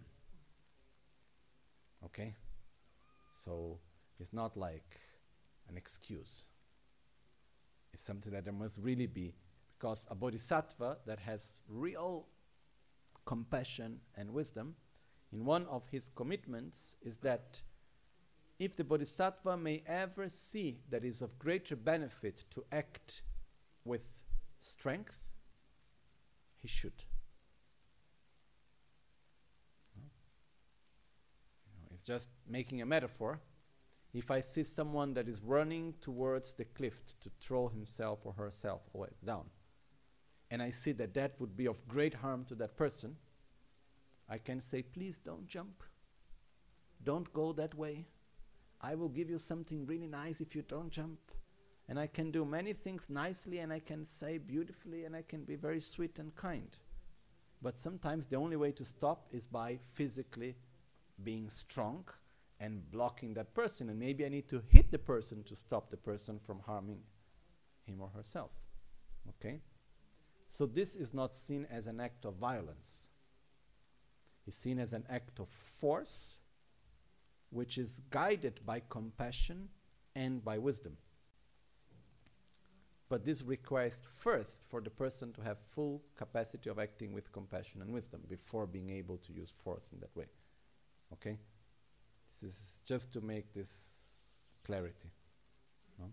Okay? So it's not like an excuse. It's something that there must really be, because a bodhisattva that has real compassion and wisdom, in one of his commitments is that if the bodhisattva may ever see that it is of greater benefit to act with strength, he should. It's just making a metaphor. If I see someone that is running towards the cliff to throw himself or herself away, down, and I see that that would be of great harm to that person, I can say, please don't jump. Don't go that way. I will give you something really nice if you don't jump. And I can do many things nicely, and I can say beautifully, and I can be very sweet and kind. But sometimes the only way to stop is by physically being strong and blocking that person. And maybe I need to hit the person to stop the person from harming him or herself. Okay? So this is not seen as an act of violence. It's seen as an act of force, which is guided by compassion and by wisdom. But this requires first for the person to have full capacity of acting with compassion and wisdom before being able to use force in that way. Okay? This is just to make this clarity. No?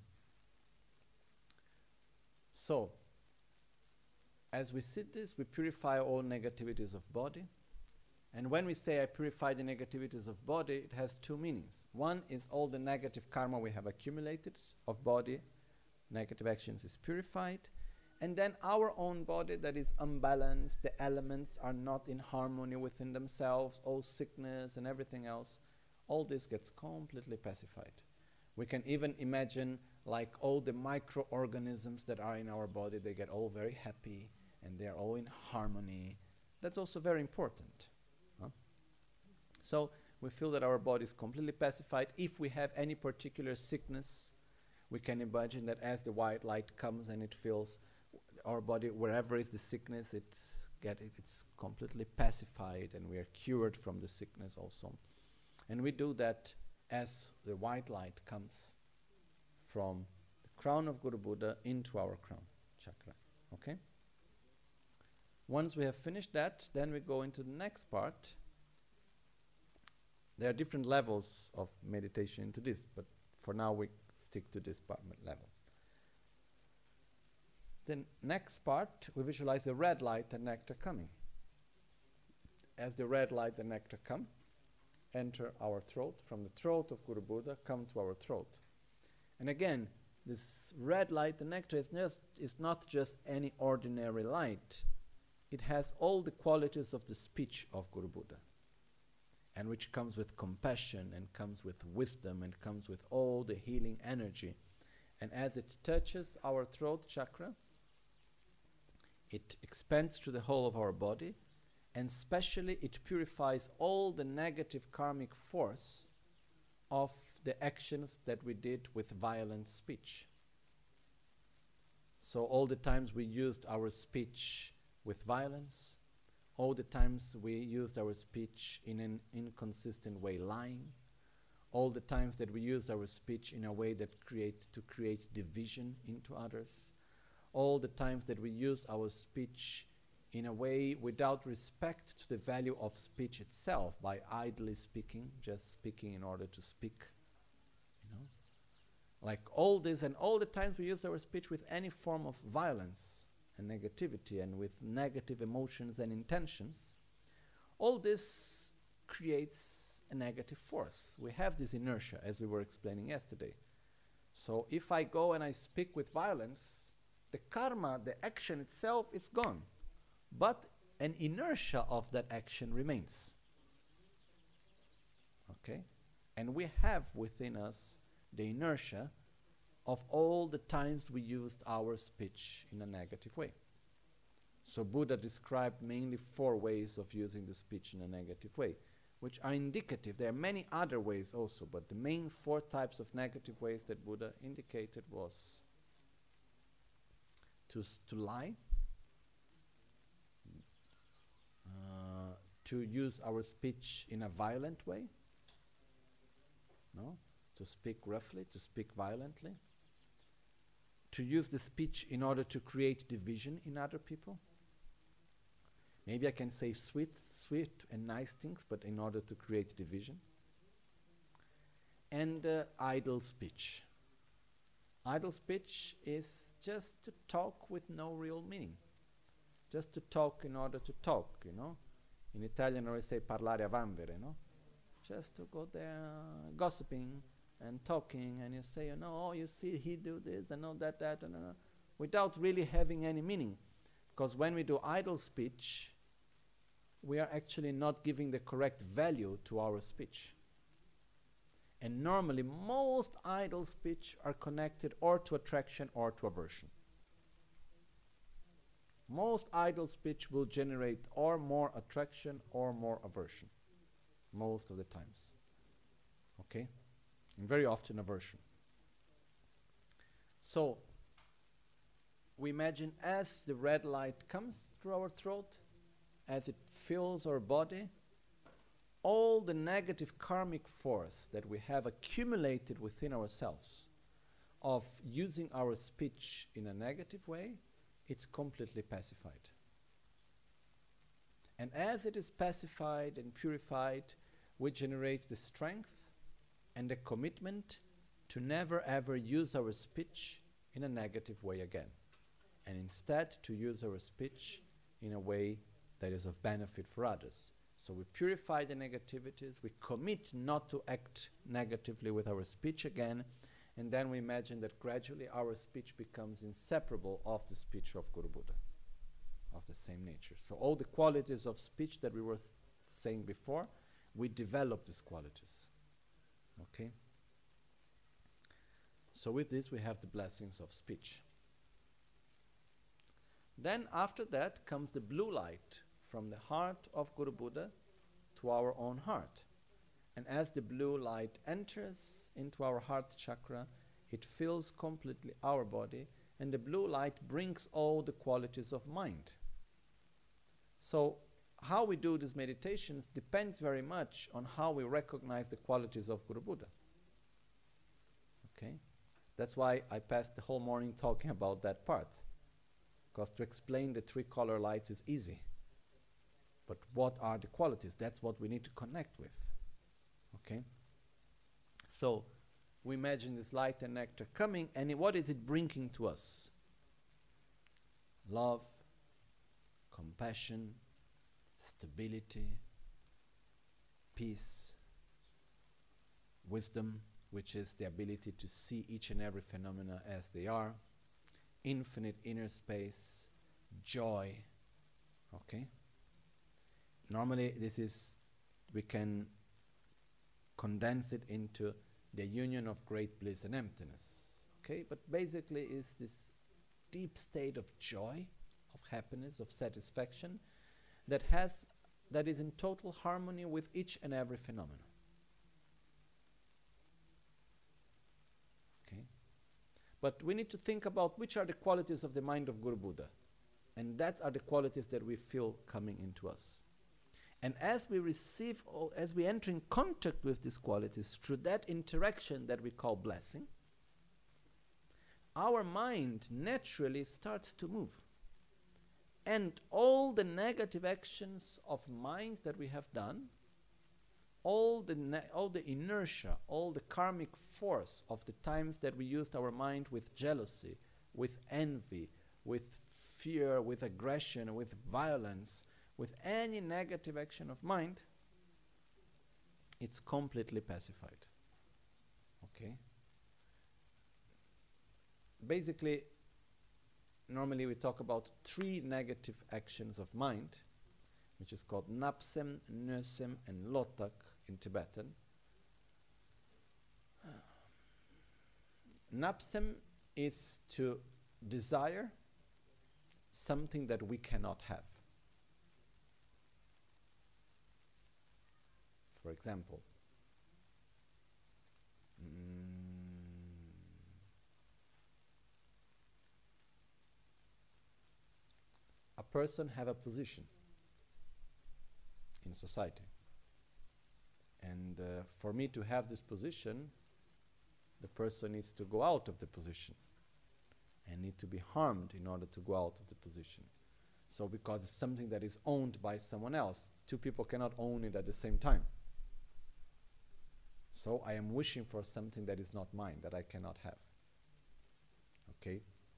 So, as we sit this, we purify all negativities of body. And when we say I purify the negativities of body, it has two meanings. One is all the negative karma we have accumulated of body, negative actions is purified. And then our own body that is unbalanced, the elements are not in harmony within themselves, all sickness and everything else, all this gets completely pacified. We can even imagine like all the microorganisms that are in our body, they get all very happy and they're all in harmony. That's also very important. So we feel that our body is completely pacified. If we have any particular sickness, we can imagine that as the white light comes and it fills our body, wherever is the sickness, it's completely pacified and we are cured from the sickness also. And we do that as the white light comes from the crown of Guru Buddha into our crown chakra. Okay? Once we have finished that, then we go into the next part. There are different levels of meditation into this, but for now we stick to this level. The next part, we visualize the red light and nectar coming. As the red light and nectar come, enter our throat, from the throat of Guru Buddha, come to our throat. And again, this red light and nectar is not just any ordinary light. It has all the qualities of the speech of Guru Buddha, and which comes with compassion and comes with wisdom and comes with all the healing energy. And as it touches our throat chakra, it expands through the whole of our body, and especially it purifies all the negative karmic force of the actions that we did with violent speech. So all the times we used our speech with violence, all the times we used our speech in an inconsistent way, lying, all the times that we used our speech in a way that create division into others, all the times that we used our speech in a way without respect to the value of speech itself, by idly speaking, just speaking in order to speak, like all this, and all the times we used our speech with any form of violence and negativity and with negative emotions and intentions, all this creates a negative force. We have this inertia, as we were explaining yesterday. So if I go and I speak with violence, the karma, the action itself is gone, but an inertia of that action remains. Okay? And we have within us the inertia of all the times we used our speech in a negative way. So Buddha described mainly 4 ways of using the speech in a negative way, which are indicative. There are many other ways also, but the main 4 types of negative ways that Buddha indicated was to lie, to use our speech in a violent way, to speak roughly, to speak violently, to use the speech in order to create division in other people. Maybe I can say sweet and nice things, but in order to create division. And idle speech. Idle speech is just to talk with no real meaning. Just to talk in order to talk, In Italian we say parlare a vanvera, Just to go there gossiping and talking, and you say, oh, you see, he do this, and that, and without really having any meaning. Because when we do idle speech, we are actually not giving the correct value to our speech. And normally most idle speech are connected or to attraction or to aversion. Most idle speech will generate or more attraction or more aversion, most of the times. Okay? And very often aversion. So, we imagine as the red light comes through our throat, as it fills our body, all the negative karmic force that we have accumulated within ourselves of using our speech in a negative way, it's completely pacified. And as it is pacified and purified, we generate the strength and the commitment to never ever use our speech in a negative way again, and instead to use our speech in a way that is of benefit for others. So we purify the negativities, we commit not to act negatively with our speech again, and then we imagine that gradually our speech becomes inseparable of the speech of Guru Buddha, of the same nature. So all the qualities of speech that we were saying before, we develop these qualities. Okay? So with this we have the blessings of speech. Then after that comes the blue light from the heart of Guru Buddha to our own heart. And as the blue light enters into our heart chakra, it fills completely our body, and the blue light brings all the qualities of mind. So how we do these meditations depends very much on how we recognize the qualities of Guru Buddha. Okay? That's why I passed the whole morning talking about that part. Because to explain the three color lights is easy. But what are the qualities? That's what we need to connect with. Okay? So, we imagine this light and nectar coming, and what is it bringing to us? Love, compassion, stability, peace, wisdom, which is the ability to see each and every phenomena as they are, infinite inner space, joy. Okay? Normally we can condense it into the union of great bliss and emptiness. Okay? But basically is this deep state of joy, of happiness, of satisfaction that is in total harmony with each and every phenomenon. Okay? But we need to think about which are the qualities of the mind of Guru Buddha. And that are the qualities that we feel coming into us. And as we receive, as we enter in contact with these qualities through that interaction that we call blessing, our mind naturally starts to move. And all the negative actions of mind that we have done, all the inertia, all the karmic force of the times that we used our mind with jealousy, with envy, with fear, with aggression, with violence, with any negative action of mind, it's completely pacified. Okay? Basically, normally we talk about 3 negative actions of mind, which is called Napsem, Nösem, and Lotak in Tibetan. Napsem is to desire something that we cannot have. For example, a person have a position in society. And for me to have this position, the person needs to go out of the position and need to be harmed in order to go out of the position. So because it's something that is owned by someone else, 2 people cannot own it at the same time. So I am wishing for something that is not mine, that I cannot have. Okay?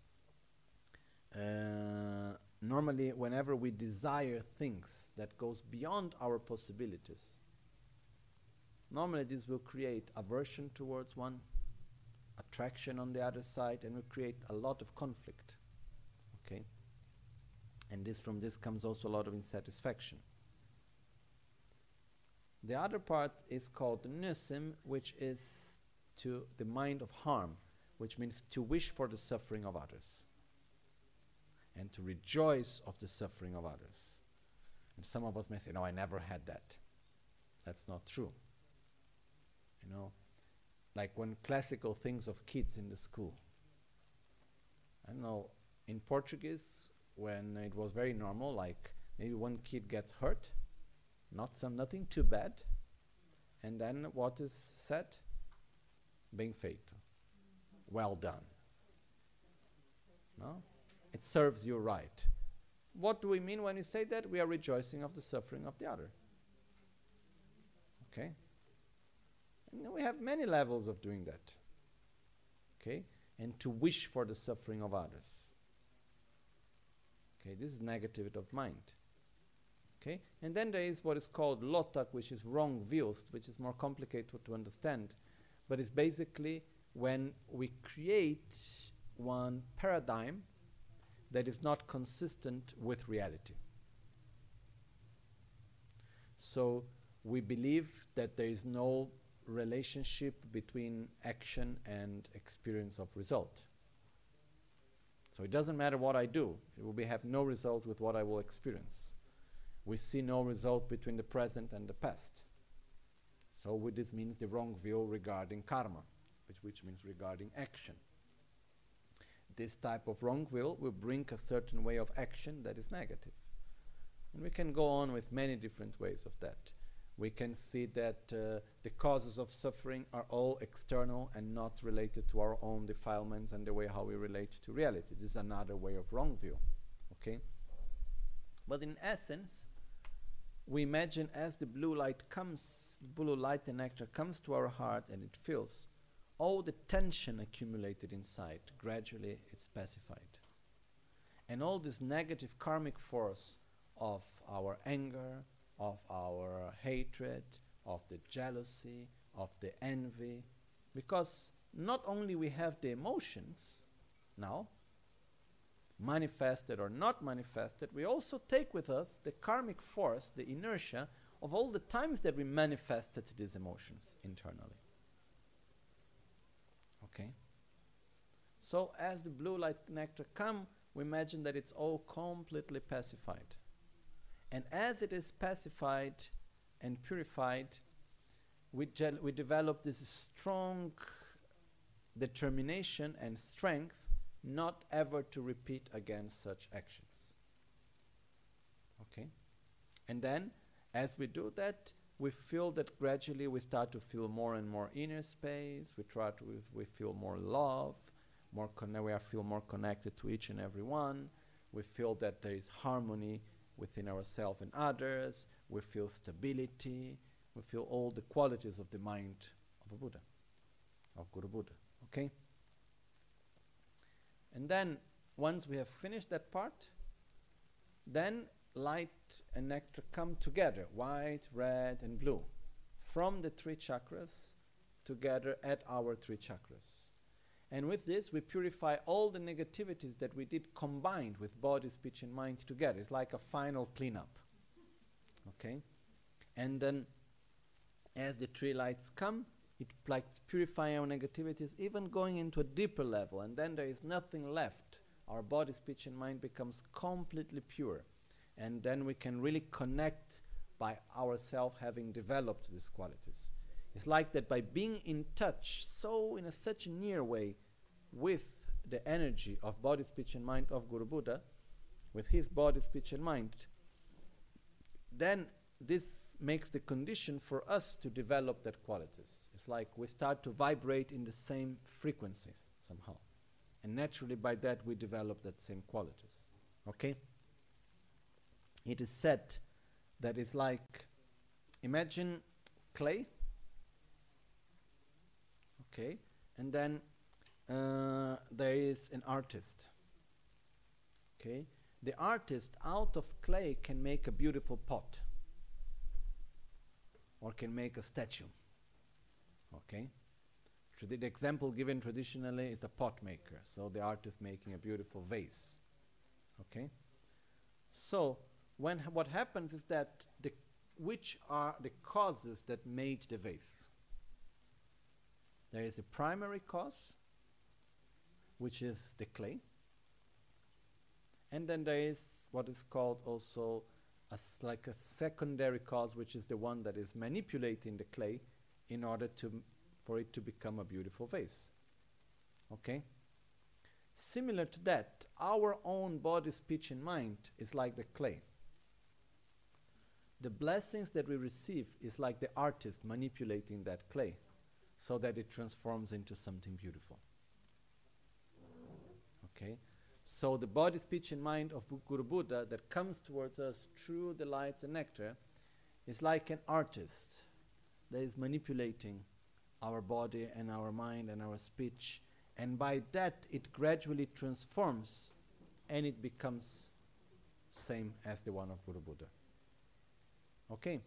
Normally, whenever we desire things that goes beyond our possibilities, normally this will create aversion towards one, attraction on the other side, and will create a lot of conflict. Okay? And from this comes also a lot of insatisfaction. The other part is called nusim, which is to the mind of harm, which means to wish for the suffering of others and to rejoice of the suffering of others. And some of us may say, no, I never had that. That's not true. You know, like when classical things of kids in the school. I don't know, in Portuguese, when it was very normal, like maybe one kid gets hurt, nothing too bad, and then what is said? Bem feito. Well done. No? It serves you right. What do we mean when we say that? We are rejoicing of the suffering of the other. Okay? And we have many levels of doing that. Okay? And to wish for the suffering of others. Okay, this is negativity of mind. Okay? And then there is what is called lotak, which is wrong views, which is more complicated to understand. But it's basically when we create one paradigm that is not consistent with reality. So we believe that there is no relationship between action and experience of result. So it doesn't matter what I do, it will have no result with what I will experience. We see no result between the present and the past. So this means the wrong view regarding karma, which means regarding action. This type of wrong will bring a certain way of action that is negative. And we can go on with many different ways of that. We can see that the causes of suffering are all external and not related to our own defilements and the way how we relate to reality. This is another way of wrong view. Okay? But in essence, we imagine as the blue light comes, blue light and nectar comes to our heart and it fills, all the tension accumulated inside, gradually it's pacified. And all this negative karmic force of our anger, of our hatred, of the jealousy, of the envy, because not only we have the emotions now, manifested or not manifested, we also take with us the karmic force, the inertia of all the times that we manifested these emotions internally. Okay? So as the blue light nectar come, we imagine that it's all completely pacified. And as it is pacified and purified, we develop this strong determination and strength not ever to repeat again such actions. Okay? And then, as we do that, we feel that gradually we start to feel more and more inner space. We feel more love, we feel more connected to each and every one. We feel that there is harmony within ourselves and others. We feel stability. We feel all the qualities of the mind of a Buddha, of Guru Buddha. Okay? And then, once we have finished that part, then light and nectar come together, white, red, and blue, from the three chakras together at our three chakras. And with this, we purify all the negativities that we did combined with body, speech, and mind together. It's like a final cleanup. Okay? And then, as the three lights come, it like purifying our negativities, even going into a deeper level. And then there is nothing left. Our body, speech, and mind becomes completely pure. And then we can really connect by ourselves having developed these qualities. It's like that by being in touch, so in such a near way, with the energy of body, speech, and mind of Guru Buddha, with his body, speech, and mind, then this makes the condition for us to develop that qualities. It's like we start to vibrate in the same frequencies somehow. And naturally by that we develop that same qualities. Okay? It is said that it's like, imagine clay. Okay? And then there is an artist. Okay? The artist out of clay can make a beautiful pot. Or can make a statue. Okay? The example given traditionally is a pot maker. So the artist making a beautiful vase. Okay? So what happens is that which are the causes that made the vase. There is a primary cause, which is the clay. And then there is what is called also like a secondary cause, which is the one that is manipulating the clay in order for it to become a beautiful vase. Okay? Similar to that, our own body, speech, and mind is like the clay. The blessings that we receive is like the artist manipulating that clay so that it transforms into something beautiful. Okay? So the body, speech, and mind of Guru Buddha that comes towards us through the lights and nectar is like an artist that is manipulating our body and our mind and our speech, and by that it gradually transforms and it becomes same as the one of Guru Buddha. Okay?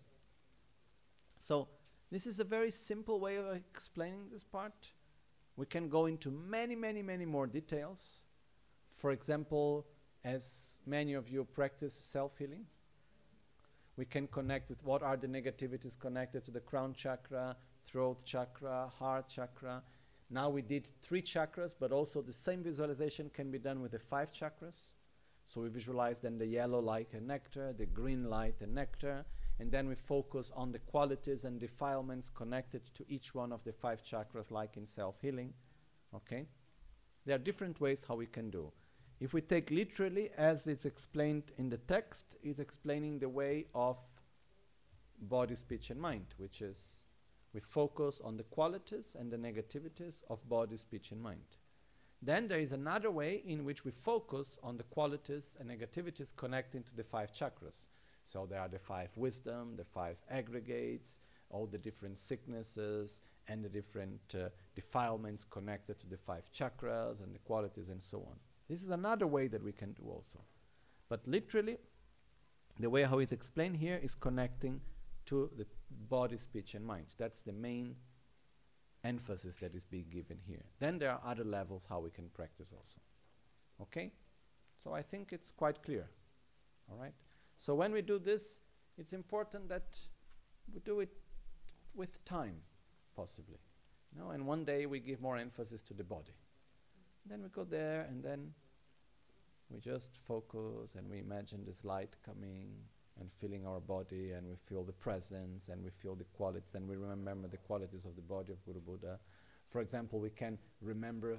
So this is a very simple way of explaining this part. We can go into many, many, many more details. For example, as many of you practice self-healing, we can connect with what are the negativities connected to the crown chakra, throat chakra, heart chakra. Now we did 3 chakras, but also the same visualization can be done with the 5 chakras. So we visualize then the yellow light and nectar, the green light and nectar, and then we focus on the qualities and defilements connected to each one of the 5 chakras, like in self-healing. Okay? There are different ways how we can do. If we take literally, as it's explained in the text, it's explaining the way of body, speech, and mind, which is we focus on the qualities and the negativities of body, speech, and mind. Then there is another way in which we focus on the qualities and negativities connecting to the 5 chakras. So there are the 5 wisdom, the 5 aggregates, all the different sicknesses, and the different defilements connected to the 5 chakras and the qualities and so on. This is another way that we can do also. But literally, the way how it's explained here is connecting to the body, speech, and mind. That's the main emphasis that is being given here. Then there are other levels how we can practice also. Okay? So I think it's quite clear. All right? So when we do this, it's important that we do it with time, possibly. You know, and one day we give more emphasis to the body. Then we go there, and then we just focus, and we imagine this light coming and filling our body, and we feel the presence, and we feel the qualities, and we remember the qualities of the body of Guru Buddha. For example, we can remember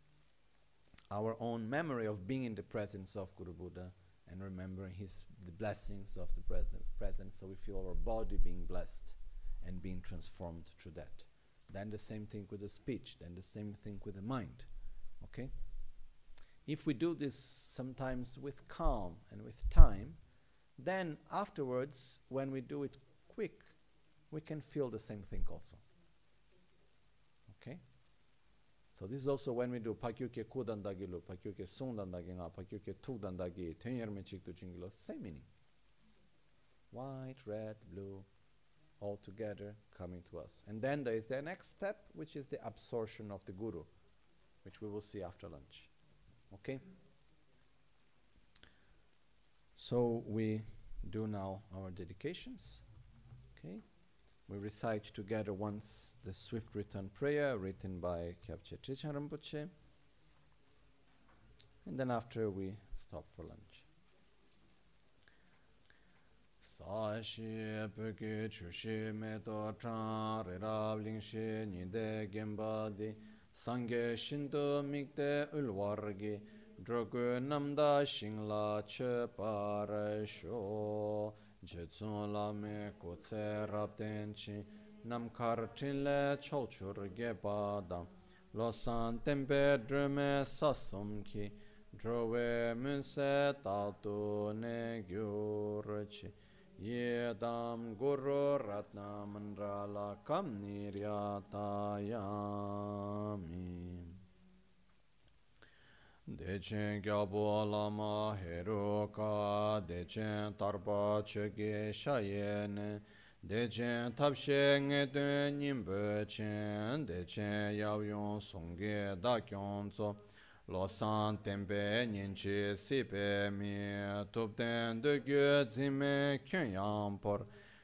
our own memory of being in the presence of Guru Buddha and remembering the blessings of the presence, so we feel our body being blessed and being transformed through that. Then the same thing with the speech, then the same thing with the mind. Okay? If we do this sometimes with calm and with time, then afterwards, when we do it quick, we can feel the same thing also. Okay? So this is also when we do pakyuke kudandagilu, pakyuke sundandaginga, pakyuke tugdandagi, tenyerme chiktu chingilo, same meaning. White, red, blue, all together coming to us. And then there is the next step, which is the absorption of the Guru, which we will see after lunch. Okay? So we do now our dedications. Okay? We recite together once the Swift Return Prayer written by Kyabche Trichan Rinpoche. And then after we stop for lunch. Sashi peke chushi meto chan rirab lingshi nide gemba di Sangye Shinto Mikte Ulwargi Drogu Namda Shingla Che Parasho Jetsun Lame Kutse Rabtenchi Namkar Chinle Cholchur Gebada Losan Tempe Drume Sasumki Drove Munse Tatu Negyurchi Yedam Guru Ratna Mandrala Kam Niryatayami Dechen Gyabo Lama Heruka Dechen Tarpa Chege Shayene Dechen Tapshe Ngete Nimbe Chen Dechen Yawyong Songge Dakyonzo Losan tempe ninchi sipe mi tupten de gyo zime kyen yampor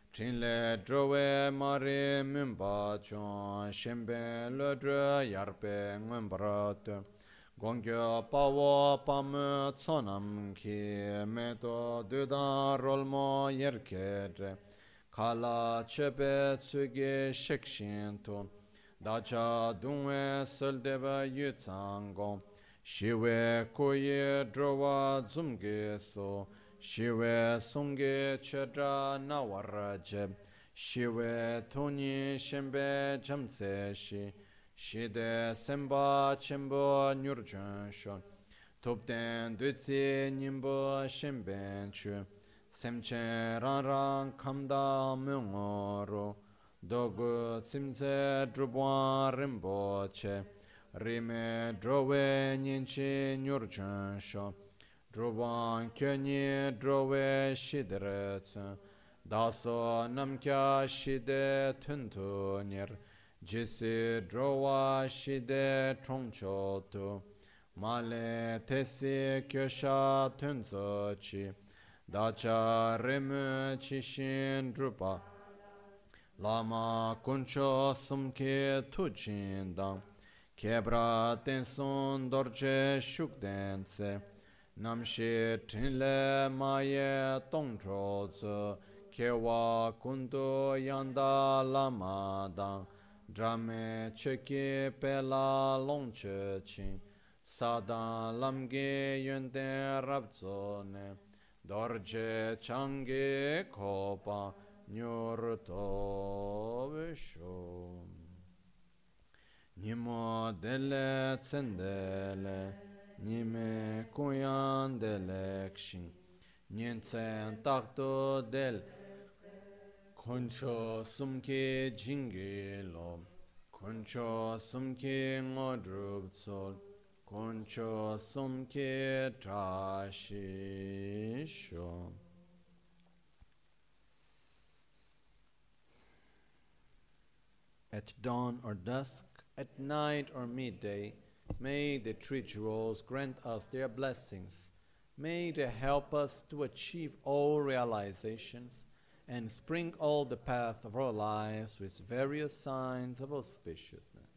Chinle drowe mari mimba chon shembe le dre yarpe ngembrat gongyo pawo pam tsonam ki meto dudan rolmo yerkedre kala chebe tsuge shekshin to dacha dungwe seldeba yutsangong shiwe koye drowa zumge so shiwe sungge chedra nawaraje shiwe toni shembe jamse shi shide semba chembo nyurjan shon topten dutsi nimbo shemben chu semchen ran ran kamda mungoro dogu simse drubwan rimboche rime drowe nyinchi nyurjan shon drubwan kyonyi drowe shidret daso namkya shide tuntu nir jisi drowa shide trongchotu male tesi kyosha tunso chi dacha rime chishin drupa lama kuncho sumke tujindang kebra tenson dorje shukdense namshi trinle maye tongchozu kewa kundu yanda lama dang drame cheki pela longche chin sadan lamge yönde rabzone dorje change kopa nyurto visho nimo dele tsendele nime kuyan dele kshin nyensen takto del koncho sumke jingelo koncho sumke ngodrup sol koncho sumke trashisho. At dawn or dusk, at night or midday, may the three jewels grant us their blessings. May they help us to achieve all realizations and sprinkle the path of our lives with various signs of auspiciousness.